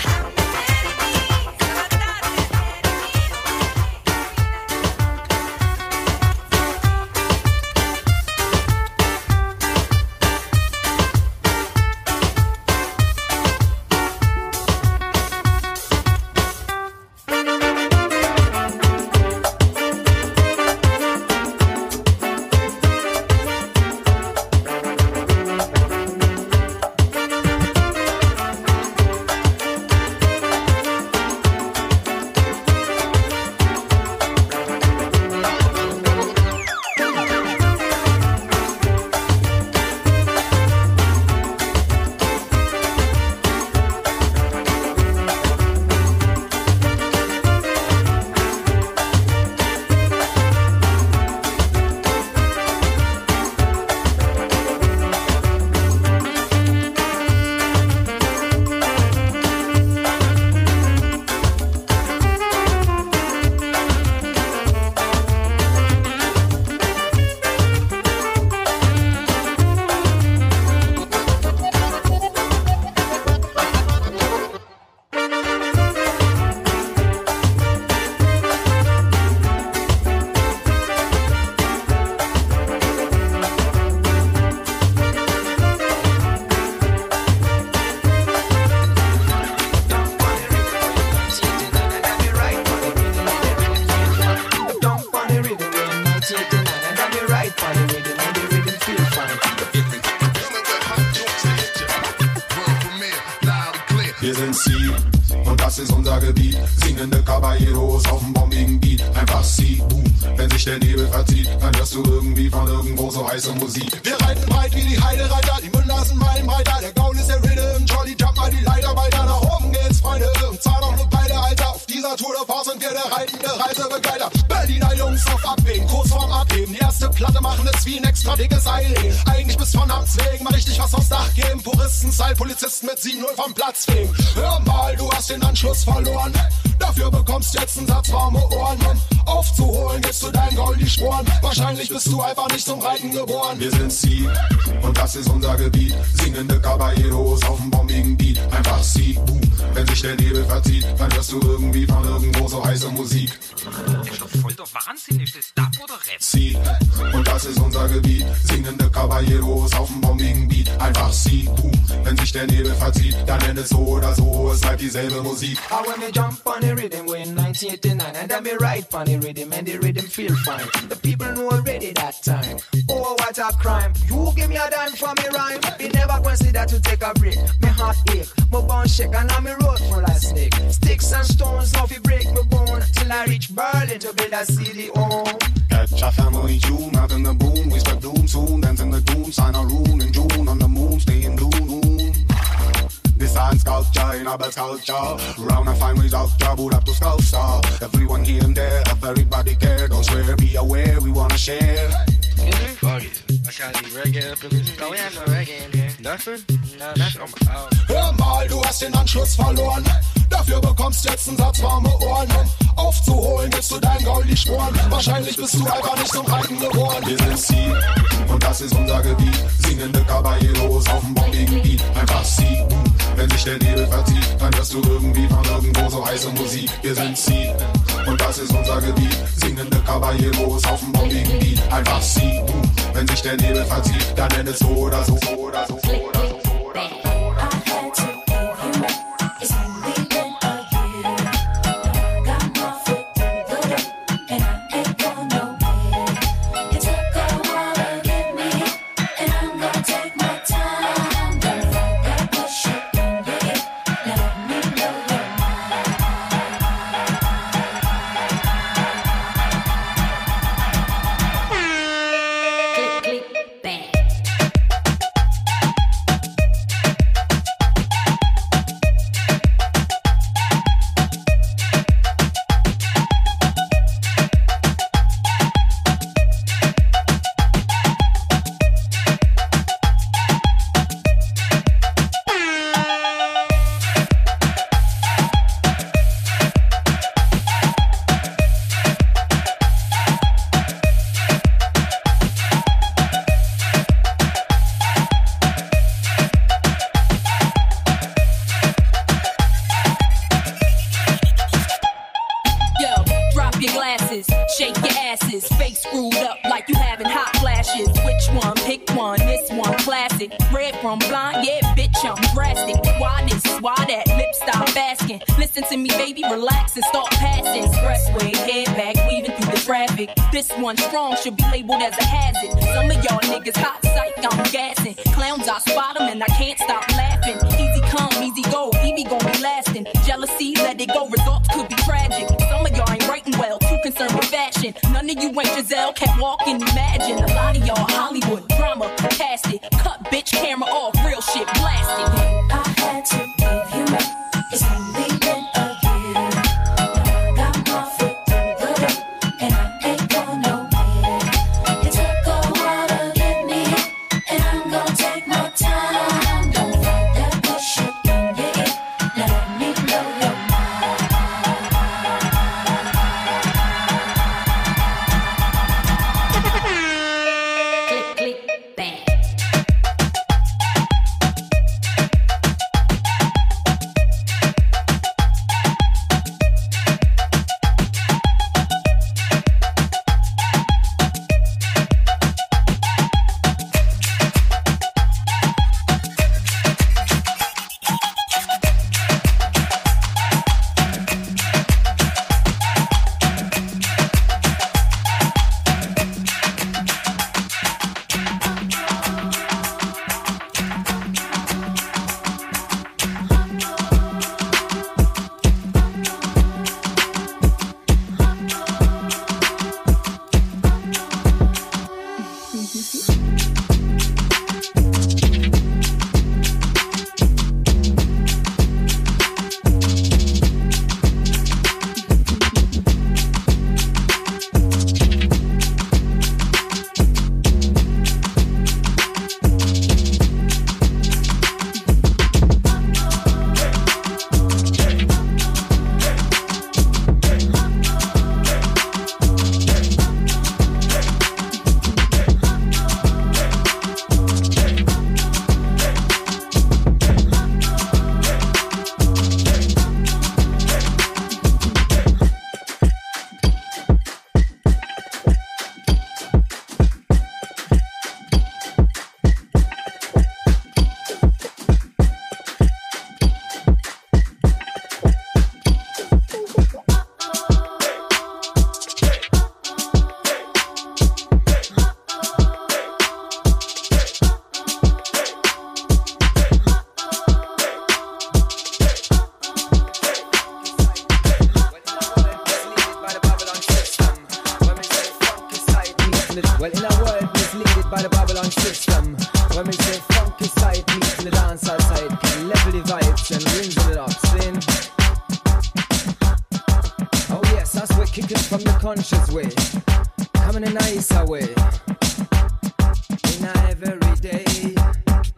Wir sind Sie und das ist unser Gebiet. Singende Caballeros auf dem bombigen Beat. Einfach Sie, boom. Wenn sich der Nebel verzieht, dann hörst du irgendwie von irgendwo so heiße Musik. Wir reiten breit wie die Heidereiter, die Münder sind Meilenbreiter. Der Gaul ist der Rhythm, Jolly jump mal die Leiter weiter. Nach oben geht's, Freunde, und zahl doch ne Beide, Alter. Auf dieser Tour de France sind wir der reitende Reisebegleiter. Berliner Jungs auf Abwägen, kurz vorm Abheben. Die erste Platte machen es wie ein extra dickes Seil. Eigentlich bis von Amts wegen mal richtig was aufs Dach geben. Puristen-Style, Polizisten mit 7-0 vom Platz fegen. Hör mal, du hast den Anschluss verloren. Dafür bekommst jetzt einen Satz warme Ohren. Um aufzuholen, gibst du dein Gaul die Sporen. Wahrscheinlich bist du einfach nicht zum Reiten geboren. Wir sind Sie und das ist unser Gebiet. Singende Caballeros auf dem bombigen Beat. Einfach Sie, boom. Wenn sich der Nebel verzieht, dann hörst du irgendwie von irgendwo so heiße Musik. Voll der Wahnsinn, ist das Dub oder Rap? Sie und das ist unser Gebiet. Singende Caballeros auf dem bombigen Beat. Einfach Sie, boom. Wenn sich der Nebel verzieht, dann nennt es so oder so, es bleibt dieselbe Musik. I when me jump on the rhythm in 1989 and then me ride on the rhythm and the rhythm feel fine. The people know already that time. Oh, what a crime. You give me a dime for me rhyme. Me never consider to take a break. Me heart ache, my bone shake and I'm me road full of snake. Sticks and stones, now fi break my bone till I reach Berlin to build a city home. Catch a family tune out in the boom. We spread doom soon, dancing the doom. Sign a rune in June on the moon, stay in blue moon. Design sculpture in our culture. Round and find results, boot up to sculpture. Everyone here and there, everybody care. Don't swear, be aware, we wanna share. Fuck it. I got the reggae up in this. No, we have no reggae in here. Nothing? No, nothing. Hör mal, du hast den Anschluss verloren. Dafür bekommst jetzt einen Satz warme Ohren, um aufzuholen, willst du dein Gaul die Sporen. Wahrscheinlich bist du einfach nicht zum Reiten geboren. Wir sind Sie und das ist unser Gebiet. Singende Caballeros auf dem bombigen Beat. Einfach Sie. Wenn sich der Nebel verzieht, dann hörst du irgendwie von irgendwo so heiße Musik. Wir sind Sie und das ist unser Gebiet. Singende Caballeros auf dem bombigen Beat. Einfach Sie. Wenn sich der Nebel verzieht, dann nenn es so oder so, so oder so, so oder so. This one strong should be labeled as a hazard. Some of y'all niggas hot psych, I'm gassing. Clowns, I spot them and I can't stop laughing. Easy come, easy go, Evie gon' be lasting. Jealousy, let it go, results could be tragic. Some of y'all ain't writing well, too concerned with fashion. None of you ain't Giselle, can't walk and imagine. A lot of y'all Hollywood drama, cast it. Cut bitch camera off, real shit blasted. I had to give you up, it's only been a year. Now I got my foot through the door, and I ain't going nowhere. It took a while to get me, and I'm gonna take my time. Don't fight that bullshit in your ear, now let me blow your mind. Click, click, bang. Well, in a world misleaded by the Babylon system, when we say funky side meets the dancehall side, can level the vibes and ring it up, sin. Oh yes, that's we're kicking from the conscious way, coming a nicer way, in a every day. Listen.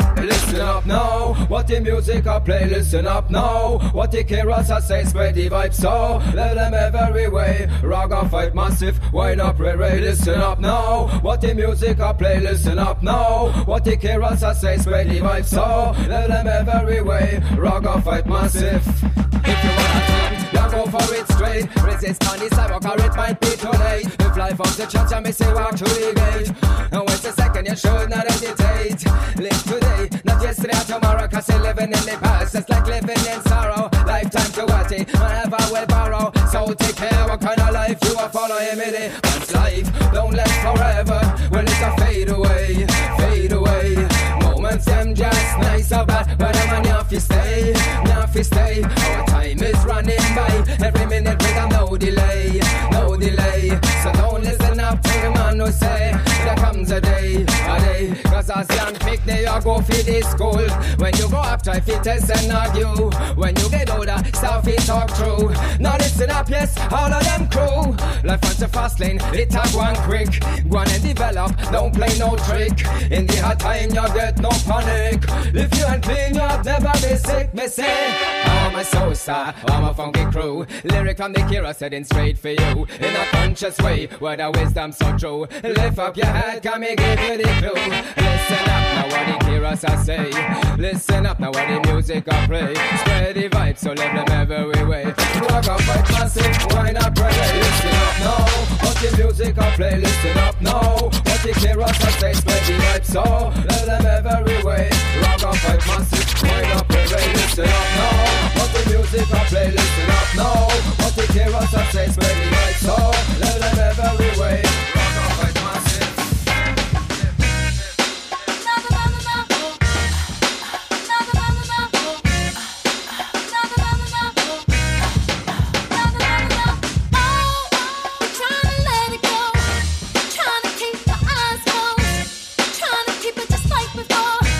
listen up now. What the music I play, listen up now. What the Keras I say, spread the vibe so. Let them every way. Raga fight massive, wine up, ray, listen up now. What the music I play, listen up now. What the Keras I say, spread the vibe so. Let them every way. Raga fight massive. If you wanna think, you go for it straight. Resist on the sidewalk or it might be too late. If life of the church and me say walk through the gate. And wait a second, you should not hesitate. Live today, not yesterday or tomorrow. Cause you're living in the past, it's like living in sorrow. Lifetime to what it, whenever we'll borrow. So take care what kind of life you are following me there. Once life don't last forever, well it'll fade away, fade away. Moments them just nice or bad, but I'm on fi stay, fi stay. Our time is running by, every minute with no delay, no delay. So don't listen up to the man who say there comes a day, cause as young pick they you go for the school. When you go up try fi test and argue. When you get older start fi talk true. Now listen up, yes, all of them crew. Life on the fast lane, it a go on quick. Go on and develop, don't play no trick. In the hard time you get no panic. If you ain't clean you have never be sick. Me say, I'm a soul star, I'm a funky crew. Lyric from the Kira setting straight for you. In a conscious way, where the wisdom so true. Lift up your head, come and give you the clue. Listen up, now what the Kiras I say. Listen up, now what the music I play. Spread the vibe, so let them every way. Rock up, fight massive, why not pray? Listen up now, what the music I play. Listen up now, what the Kiras I say. Spread the vibe, so let them every way. Rock up, fight massive, why not pray? Listen up now, what the music I play. Listen up now, what the Kiras I say. Spread the vibe, so let them every way. Rock up, fight massive. Trying to keep my eyes closed, trying to keep it just like before.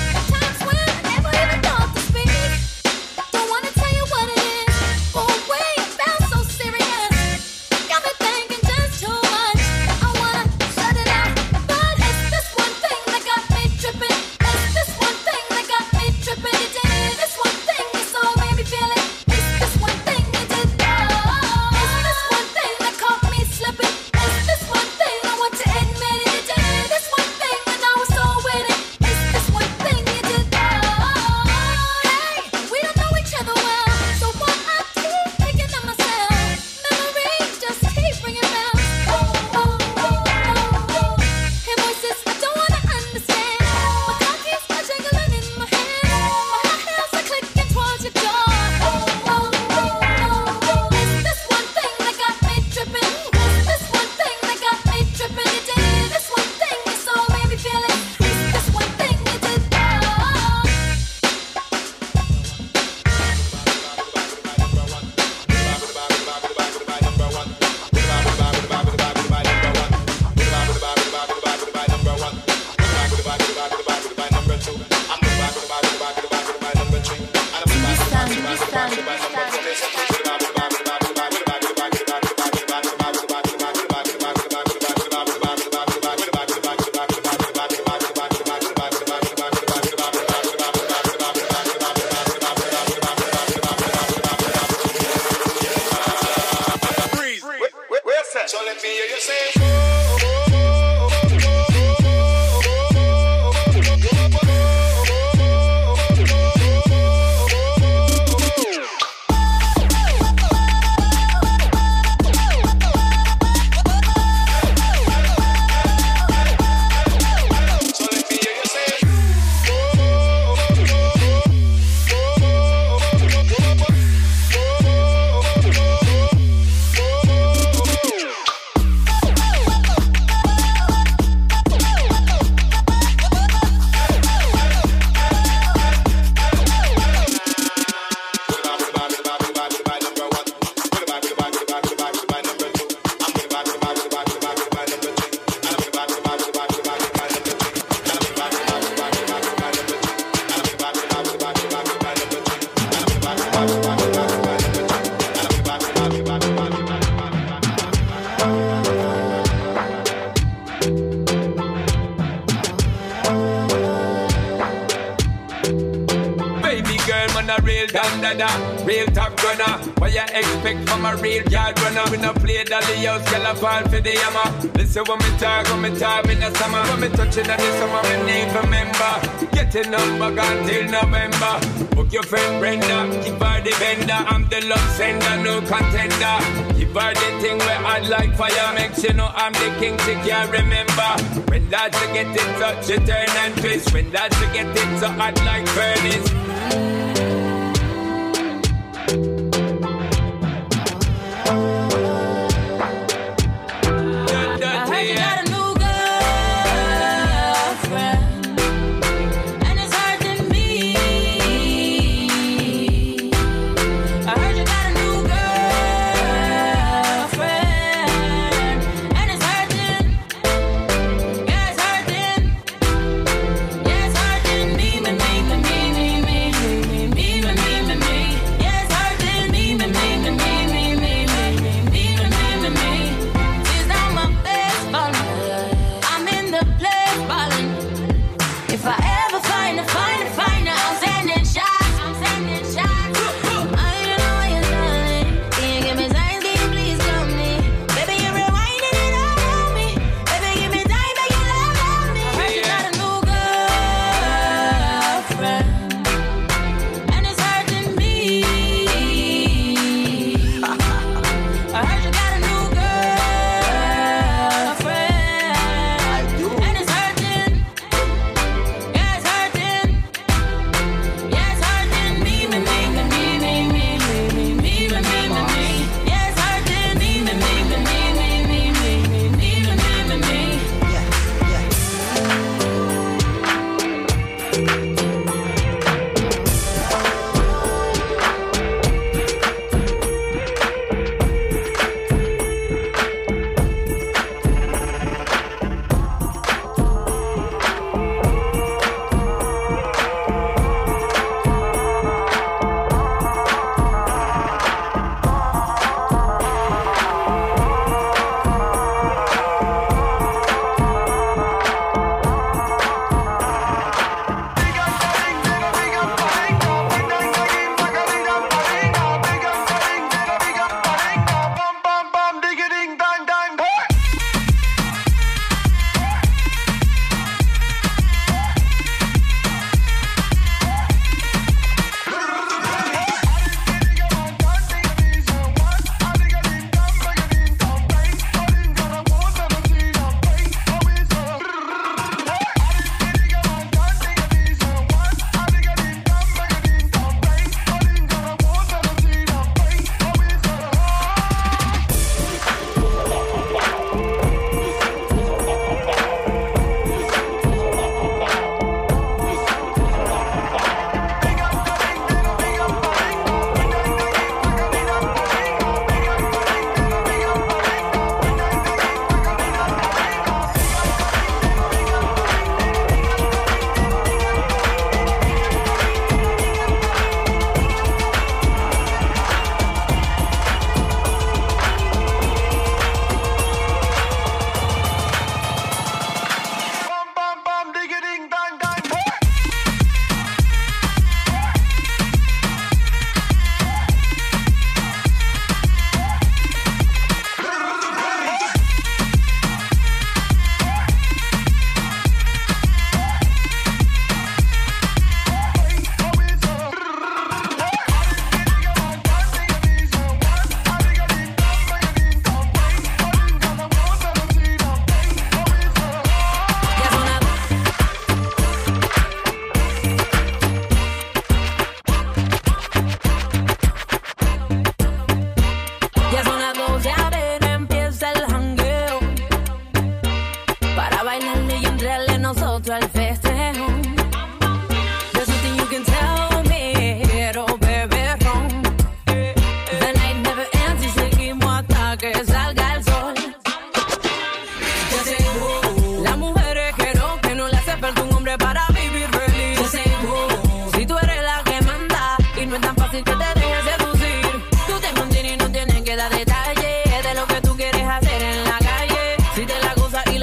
real dandada, real top gunner. What you expect from a real yard runner? We no play dolly house, girl a fall for the hammer. Listen when me talk in the summer. When me touching on the summer, me need remember. Getting up back until November. Book your friend Brenda, give her the bender. I'm the love sender, no contender. Give her the thing where I'd like fire. Make she know I'm the king, she can't remember. When that she get it so she turn and twist. When that she get it so hot like furnace.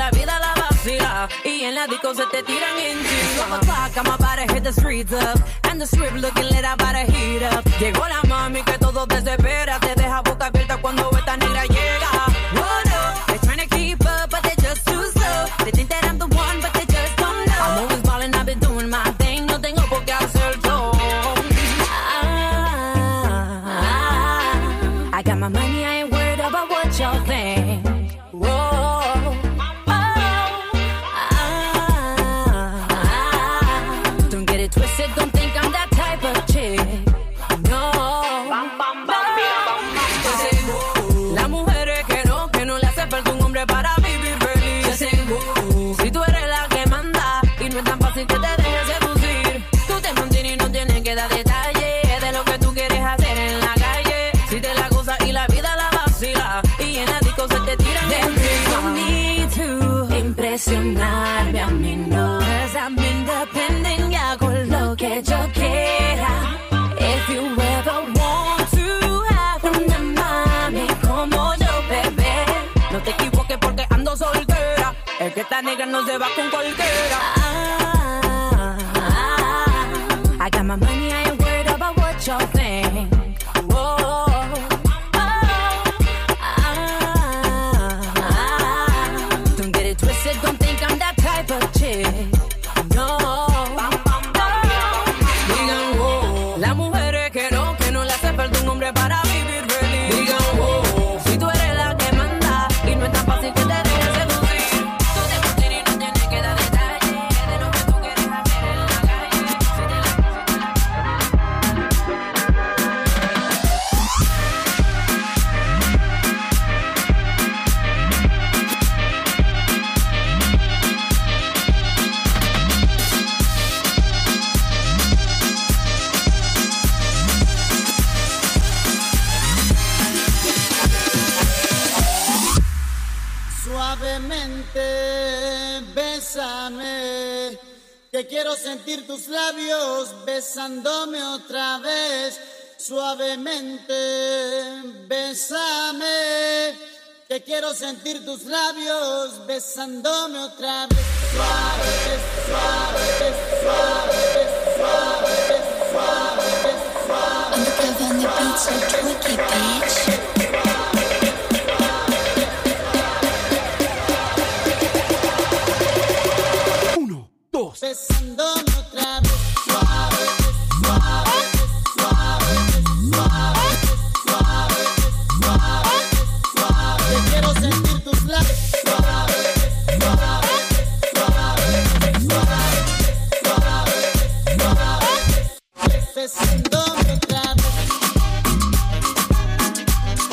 disco se te tiran encima. I'ma talk, I'm about to hit the streets up. And on the strip looking lit, about to heat up. Llegó la mami que todo desespera, te deja boca abierta cuando esta negra llega. What up? They're trying to keep up, but they're just too slow. They think that I'm the one, but they just don't know. I'm always ballin', I've been doing my thing, no tengo por qué hacer todo. I got my money, I ain't worried about what y'all think. Don't get it twisted, don't think I'm that type of chick. No. Las mujeres que no le hace falta un hombre para vivir feliz. Si tú eres la que manda y no es tan fácil que te dejes seducir, tú te mantienes y no tienes que dar detalles de lo que tú quieres hacer en la calle. Si te la gozas y la vida la vacila y en la disco se te tiran de no need to impresionarme a mí, no. 'Cause I'm independent y hago lo que yo quiera. If you ever want to have una mami como yo, bebé, no te equivoques porque ando soltera. Es que esta negra no se va con cualquiera. I got my money, I ain't worried about what y'all think. Don't get it twisted, don't think I'm that type of chick. No. Digan wow, las mujeres que no le hace falta un hombre para vivir feliz. Digan wow, si tú eres la que manda y no es tan fácil que te dejes seducir, tú te mantienes y no tienes que dar detalles de lo que tú quieres hacer en la calle. Suavemente, bésame, que quiero sentir tus labios besándome otra vez. Suavemente, bésame, que quiero sentir tus labios besándome otra vez. Suave, suave, suave, suave, suave, suave. Undercover on the beat, so twerk it, bitch. Besándome otra vez, suave, suave, suave, suave, suave, suave, suave. Te quiero sentir tus labios, suave, suave, suave, suave, suave, suave. Besándome otra vez.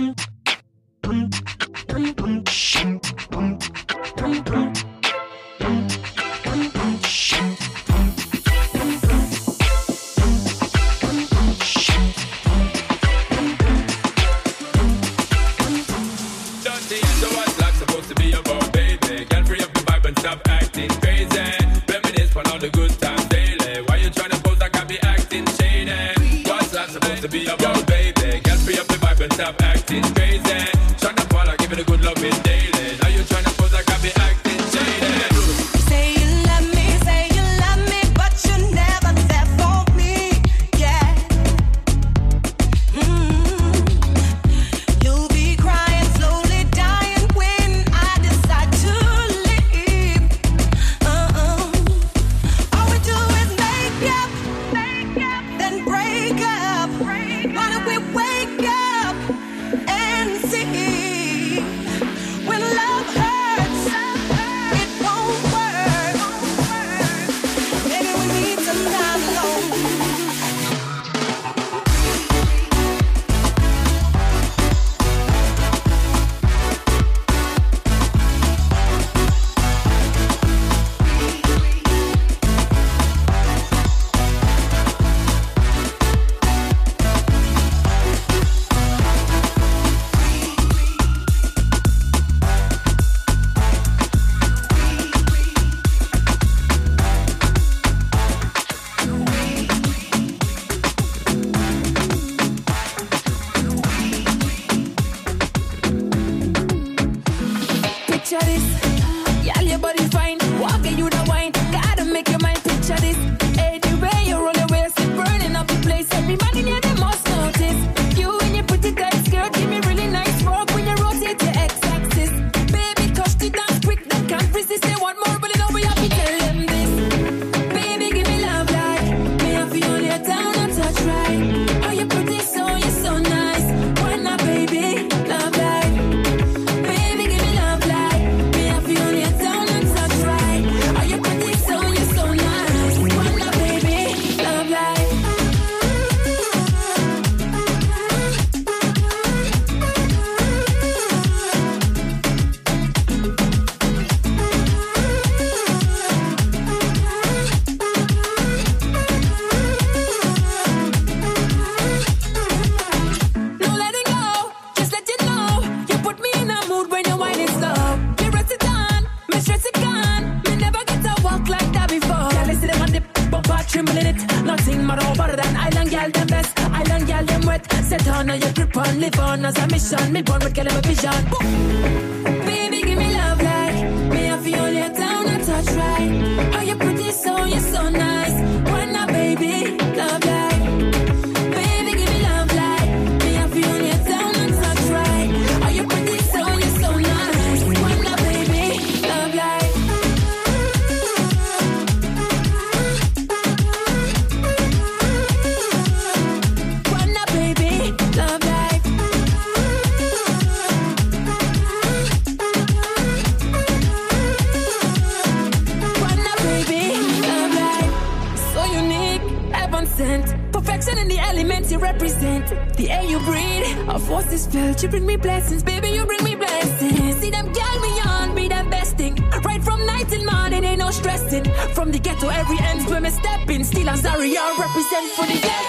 You bring me blessings, baby, you bring me blessings. See them gal beyond, be the best thing. Right from night till morning, ain't no stressing. From the ghetto, every end where me stepping. Still I'm sorry, I represent for the girl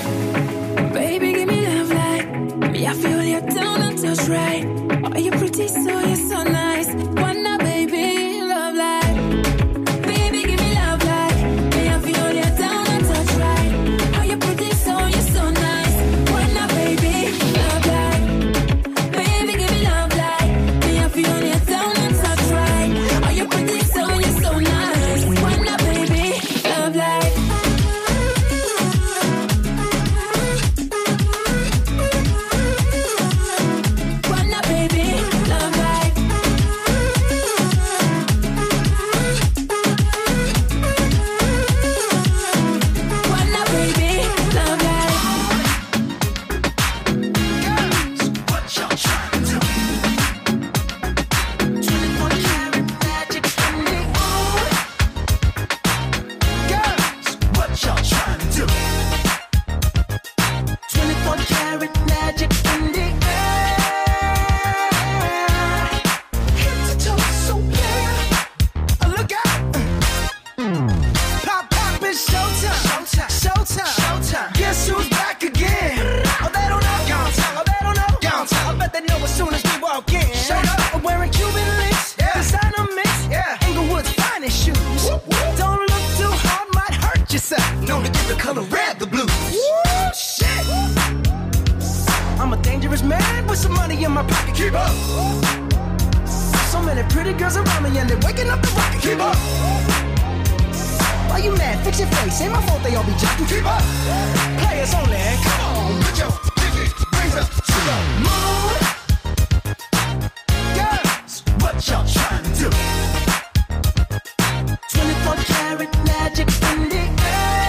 them. Baby, give me love like me, I feel you down and touch right. Oh, you're pretty, so you're so nice. Wanna, baby, love like. Baby, give me love like me, I feel you down and touch right. Oh, you're pretty, so you're so nice. Wanna, baby, love like. Love life. some money in my pocket. Keep up. So many pretty girls around me and they're waking up the rocket. Keep up. Why you mad? Fix your face. Ain't my fault they all be jocking. Keep up. Players only. Come on, put your pinky rings up to the moon. Girls, what y'all trying to do? 24 karat magic in the air.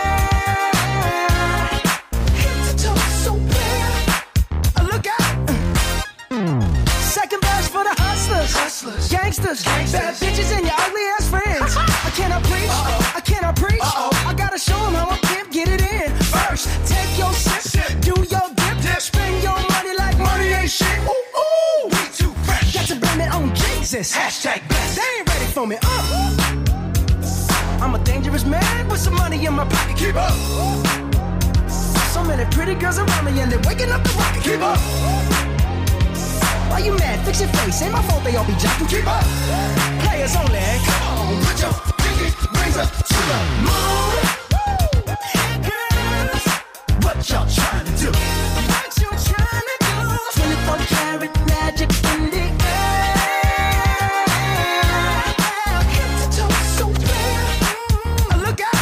Head to toe so clear. Look out. Second verse for the hustlers, gangsters, bad bitches and your ugly ass friends. I cannot preach, I cannot preach. I gotta show them how I pimp get it in. First, take your sip, do your dip, spend your money like money ain't shit. Ooh, ooh, we too fresh. Got to blame it on Jesus. Hashtag blessed. They ain't ready for me. I'm a dangerous man with some money in my pocket. Keep up. So many pretty girls around me and they're waking up the rocket. Keep up. Why you mad? Fix your face. Ain't my fault they all be jocking. Keep up. Players only. Come on, put your pinky rings up to the moon. Girls, what y'all trying to do? What you trying to do? 24 karat magic in the air. Head to toe so clear. Look out.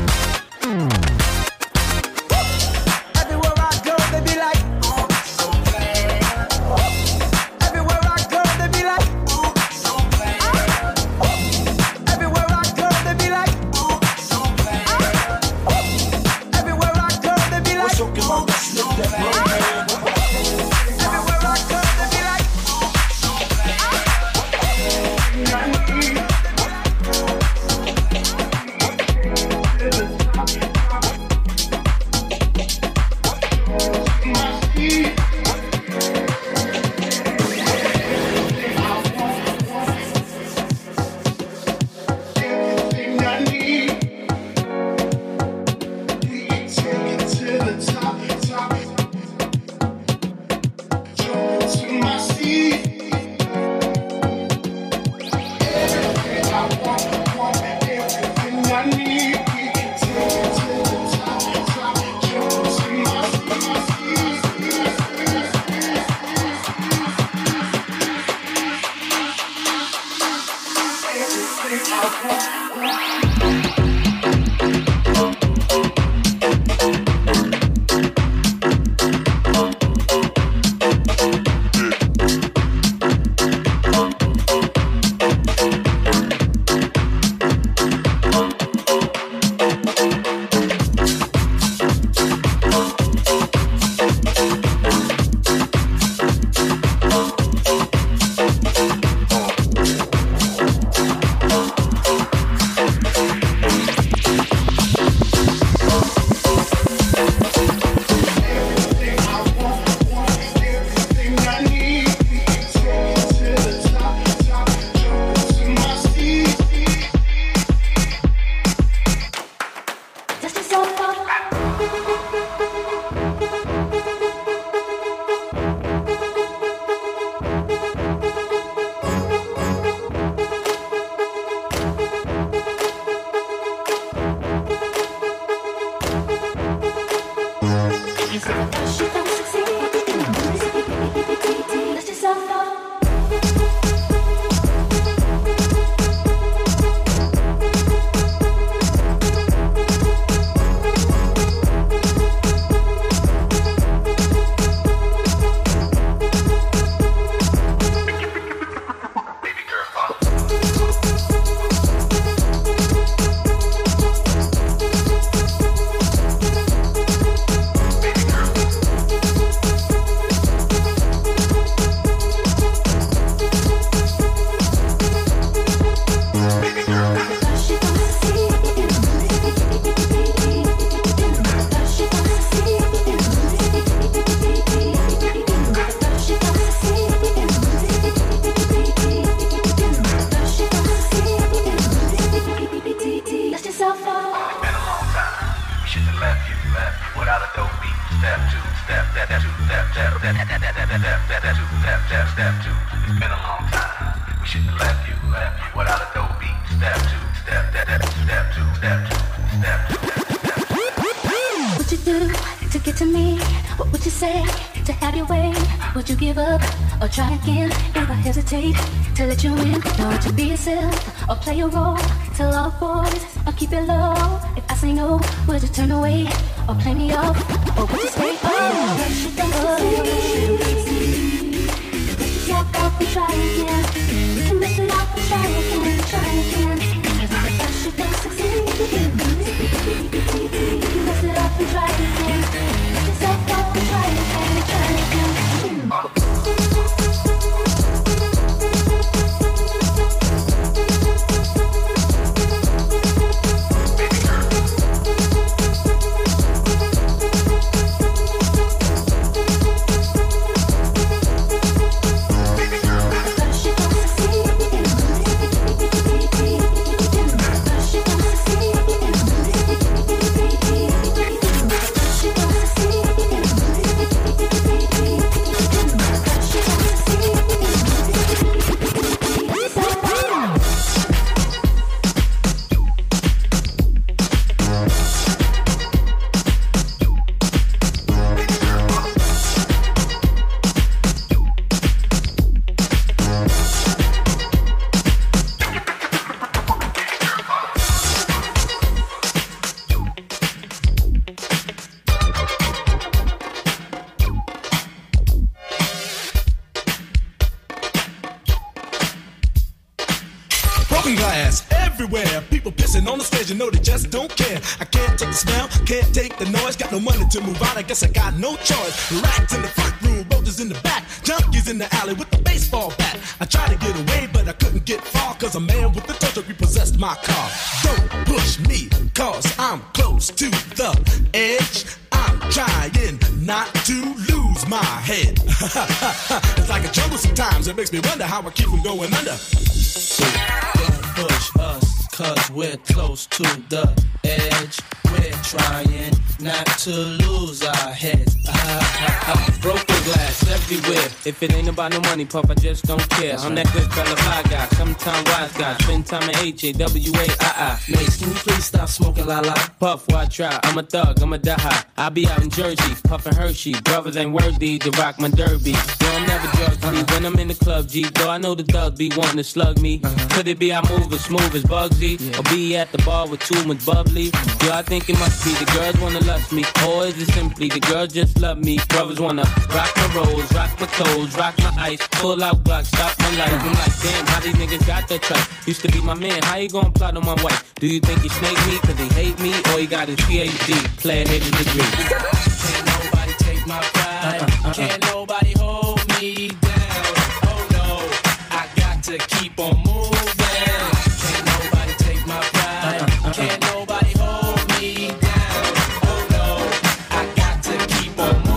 Everywhere I go, they be like, oh, so bad. Everywhere I go, they be like, oh, so bad. Everywhere I go, they be like, oh, so bad. Everywhere I go, they be like, oh, so bad. Everywhere I go, they be like, oh, so Step two. It's been a long time. We shouldn't have left you without a dope beat. Step two. Step two. Step two. What you do to get to me? What would you say to have your way? Would you give up or try again? If I hesitate to let you in, know to be yourself or play a role. Tell all the boys or keep it low. If I say no, would you turn away or play me off? Or would you say, oh, walk off and try again. You can mess it up and try again, try again. Cause if you don't succeed, mess it up and try again. Let yourself off and try again, try again. You know they just don't care. I can't take the smell, can't take the noise. Got no money to move out, I guess I got no choice. Rats in the front room, roaches in the back, junkies in the alley with the baseball bat. I tried to get away, but I couldn't get far, cause a man with the touch repossessed my car. Don't push me, cause I'm close to the edge. I'm trying not to lose my head. It's like a jungle sometimes, it makes me wonder how I keep from going under. So don't push us, cause we're close to the edge. We're trying not to lose our heads. Broken glass everywhere. If it ain't about no money, puff, I just don't care. I'm that good fella, fly guy, sometime wise guy. Spend time at H-A-W-A-I-I. Mace, can you please stop smoking la-la? Puff, why try? I'm a thug, I'm a die. I be out in Jersey, puffin' Hershey. Brothers ain't worthy to rock my derby. Yo, I'm never drug free when I'm in the club, G. Though I know the thugs be wanting to slug me. Could it be I move as smooth as Bugsy? Or be at the bar with too much bubbly? Yo, I think it must be the girls wanna lust me. Or is it simply the girls just love me? Brothers wanna rock my rolls, rock my toes, rock my ice, pull out Glock, stop my life. I'm like, damn, how these niggas got that trust? Used to be my man, how you gonna plot on my wife? Do you think he snake me cause he hate me? Or he got his PhD, player hated degree? Can't nobody take my pride, can't nobody hold me down. Oh no, I got to keep on moving. Can't nobody take my pride, can't nobody hold me down. Oh no, I got to keep on moving.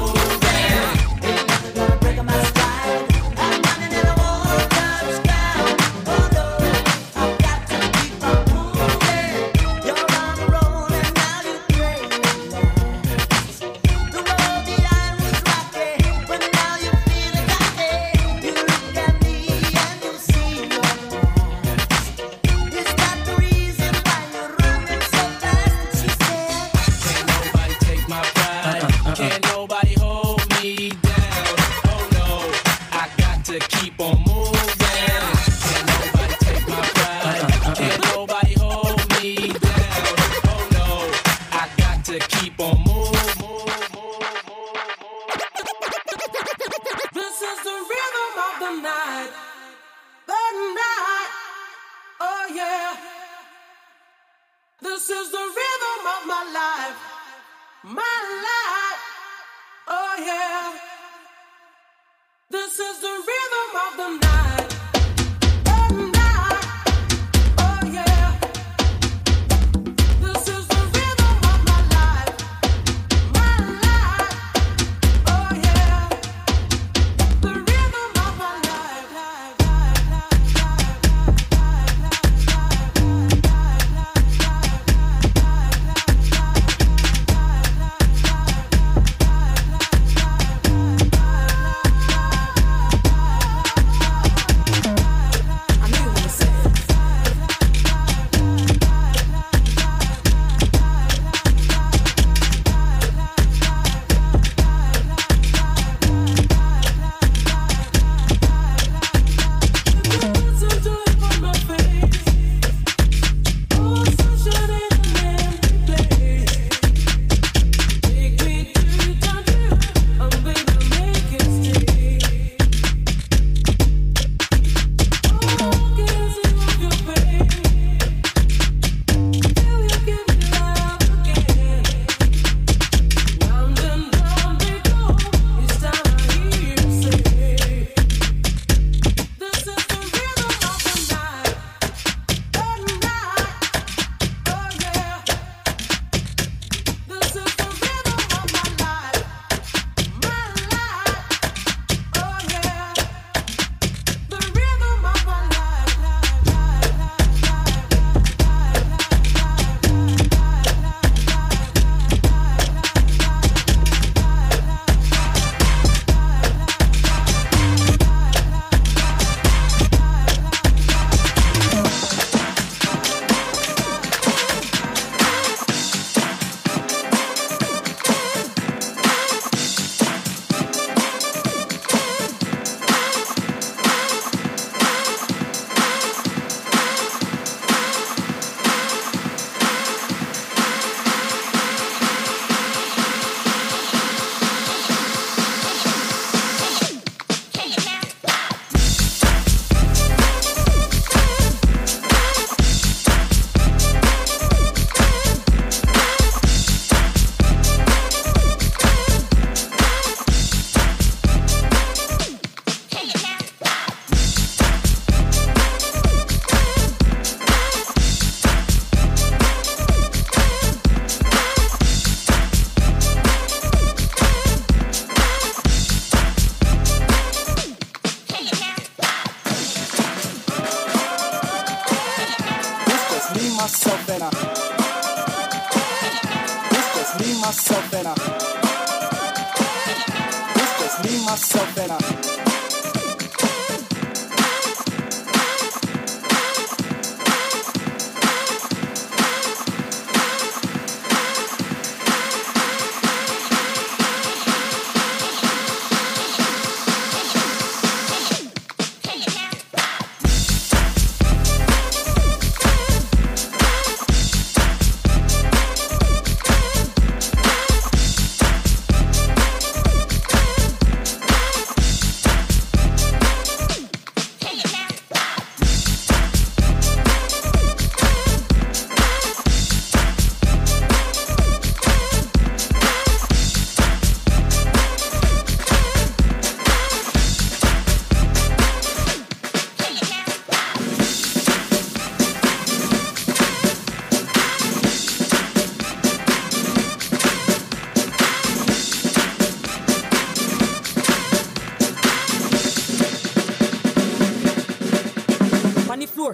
the floor.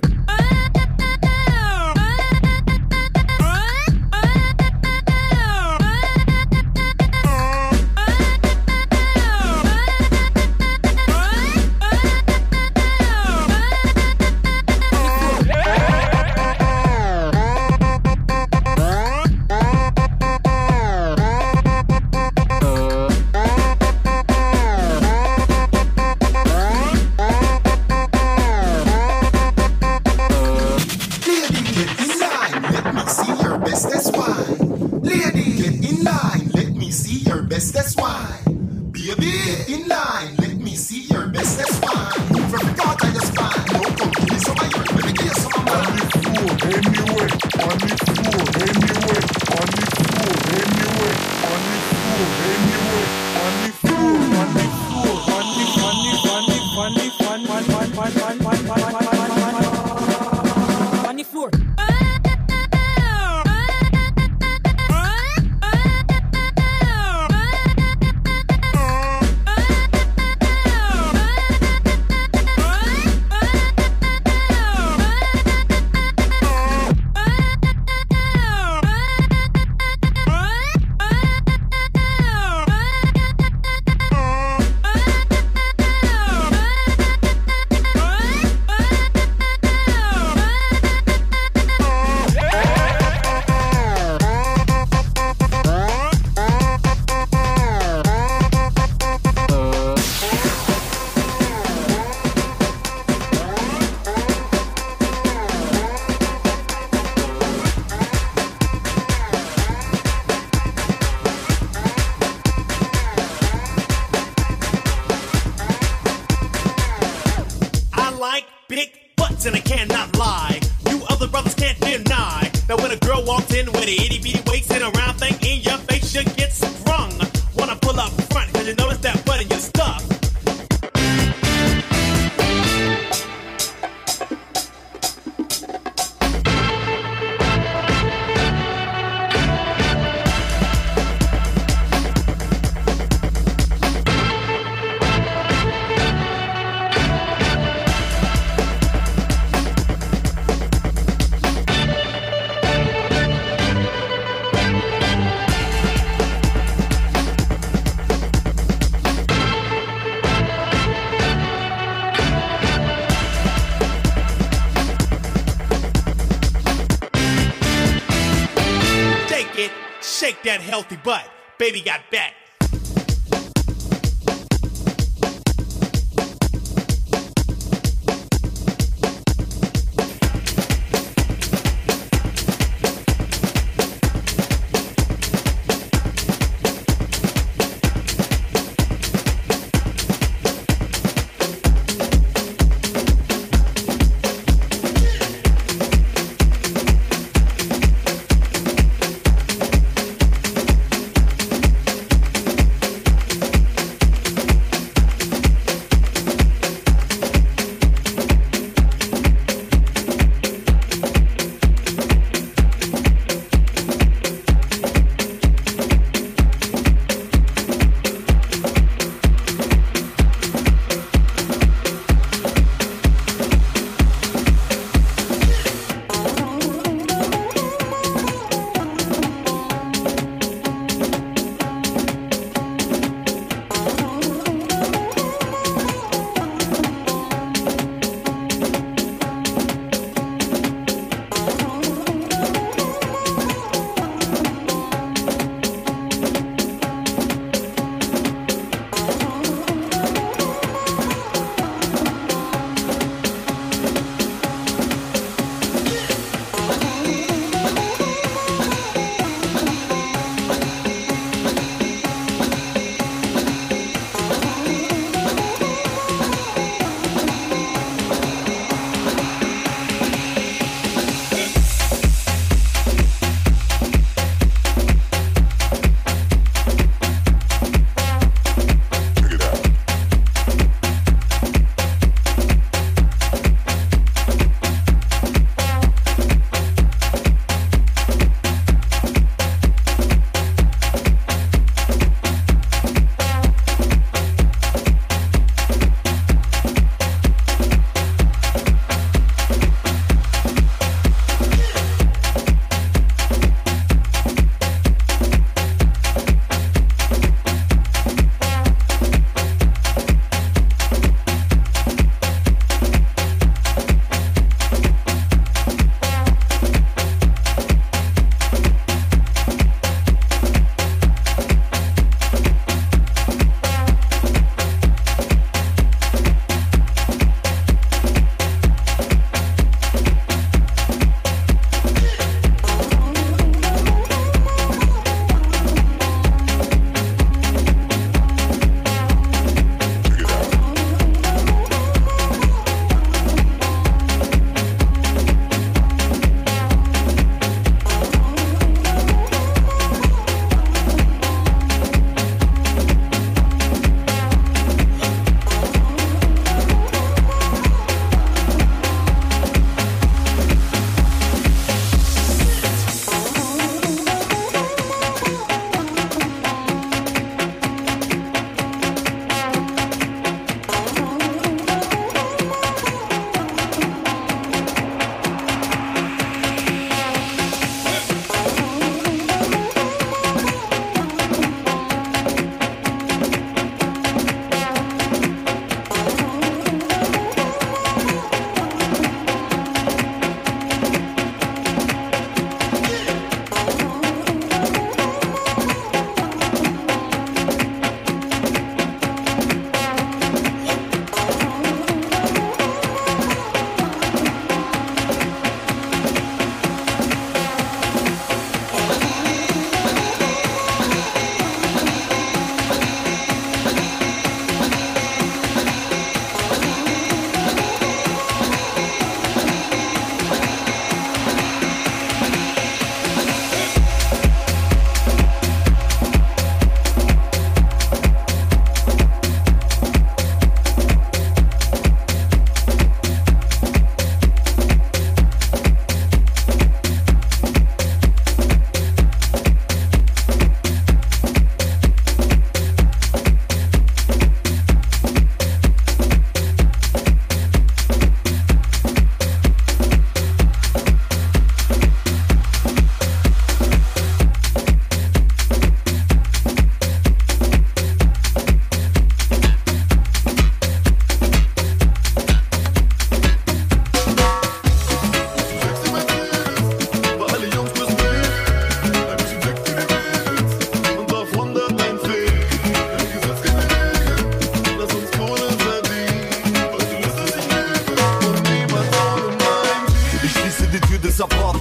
That healthy butt, baby got back.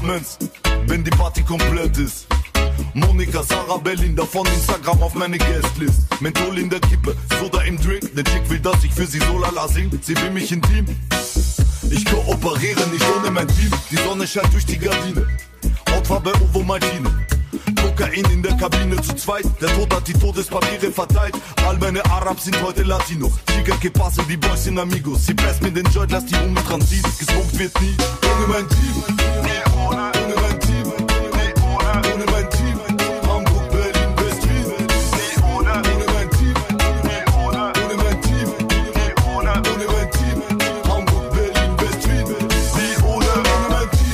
Apartments, wenn die Party komplett ist. Monika, Sarah, Belinda von Instagram auf meine Guestlist. Menthol in der Kippe, Soda im Drink. Der Chick will, dass ich für sie so lala sing. Sie will mich intim. Ich kooperiere nicht ohne mein Team. Die Sonne scheint durch die Gardine. Hautfarbe Ovo Martine. Kokain in der Kabine zu zweit. Der Tod hat die Todespapiere verteilt. All meine Arabs sind heute Latino. Chica que passe, die Boys sind Amigos. Sie presst mir den Joint, lass die Hunde dran ziehen. Gesmoked wird nie ohne mein Team. Ohne mein Team. Ohne mein Team. Hamburg, Berlin, West-Wien. Ohne mein Team. Ohne mein Team. Ohne mein Team. Hamburg, Berlin, West-Wien. Ohne mein Team.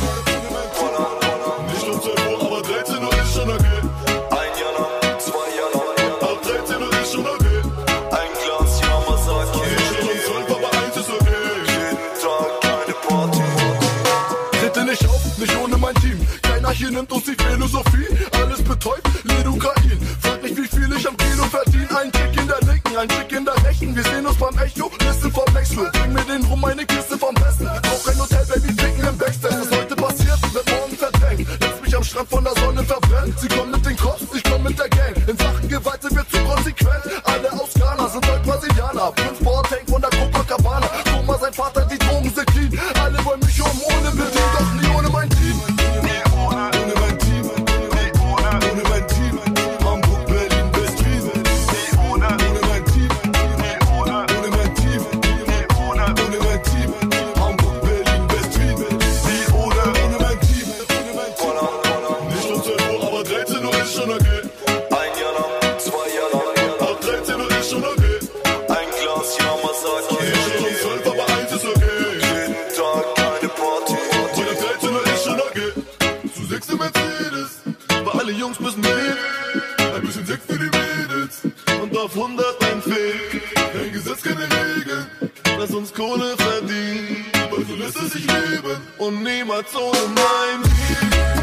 Nicht um 12 Uhr, aber 13 Uhr ist schon okay. Ein Jahr lang, 2 Jahre lang. Ab 13 Uhr ist schon okay. Ein Glas Yamazaki. Nicht um 12, aber 1 ist okay. Jeden Tag eine Party. Tritte nicht auf, nicht ohne mein Team. Keiner hier nimmt uns die Philosophie. Alles betäubt, Lidocain. Frag nicht, wie viel ich am Kilo verdiene. Ein Trick in der linken, ein Trick in der rechten. Wir sehen uns beim Echo, Liste vom Wechsel. Bring mir den rum, meine Kiste vom Besten. Brauch ein Hotel, Baby, ficken im Backstage. Was heute passiert, wird morgen verdrängt. Lass mich am Strand von der Sonne verbrennen. Sie kommen mit den Cops, ich komm mit der Gang. In Sachen Gewalt sind wir zu konsequent. Alle aus Ghana sind heute Brasilianer. 5 Bordtank von der Copacabana. Guck mal, sein Vater, die Drogen sind clean. Alle wollen mich ohne Bedien, doch nie ohne mein Team. Ohne mein Team. Ohne mein Team. Hamburg, Berlin, West-Wien. Ohne mein Team. Ohne mein Team. Ohne mein Team. Hamburg, Berlin, West-Wien. Ohne mein Team. Nicht um 12 Uhr, aber 13 Uhr ist schon okay. Ein Jahr lang, 2 Jahre lang. Ab 13 Uhr ist schon okay. Ein Glas Yamazaki. Nicht um 12, aber 1 ist okay. Jeden Tag eine Party. Und ab 13 Uhr ist schon okay. Zu 6 im Mercedes. Weil alle Jungs müssen reden. Ein bisschen Sex für die Mädels. Und auf 100 ein Fake. Kein Gesetz, keine Regeln. Lass uns Kohle verdienen. Weil so lässt es sich leben. Und niemals ohne mein Team.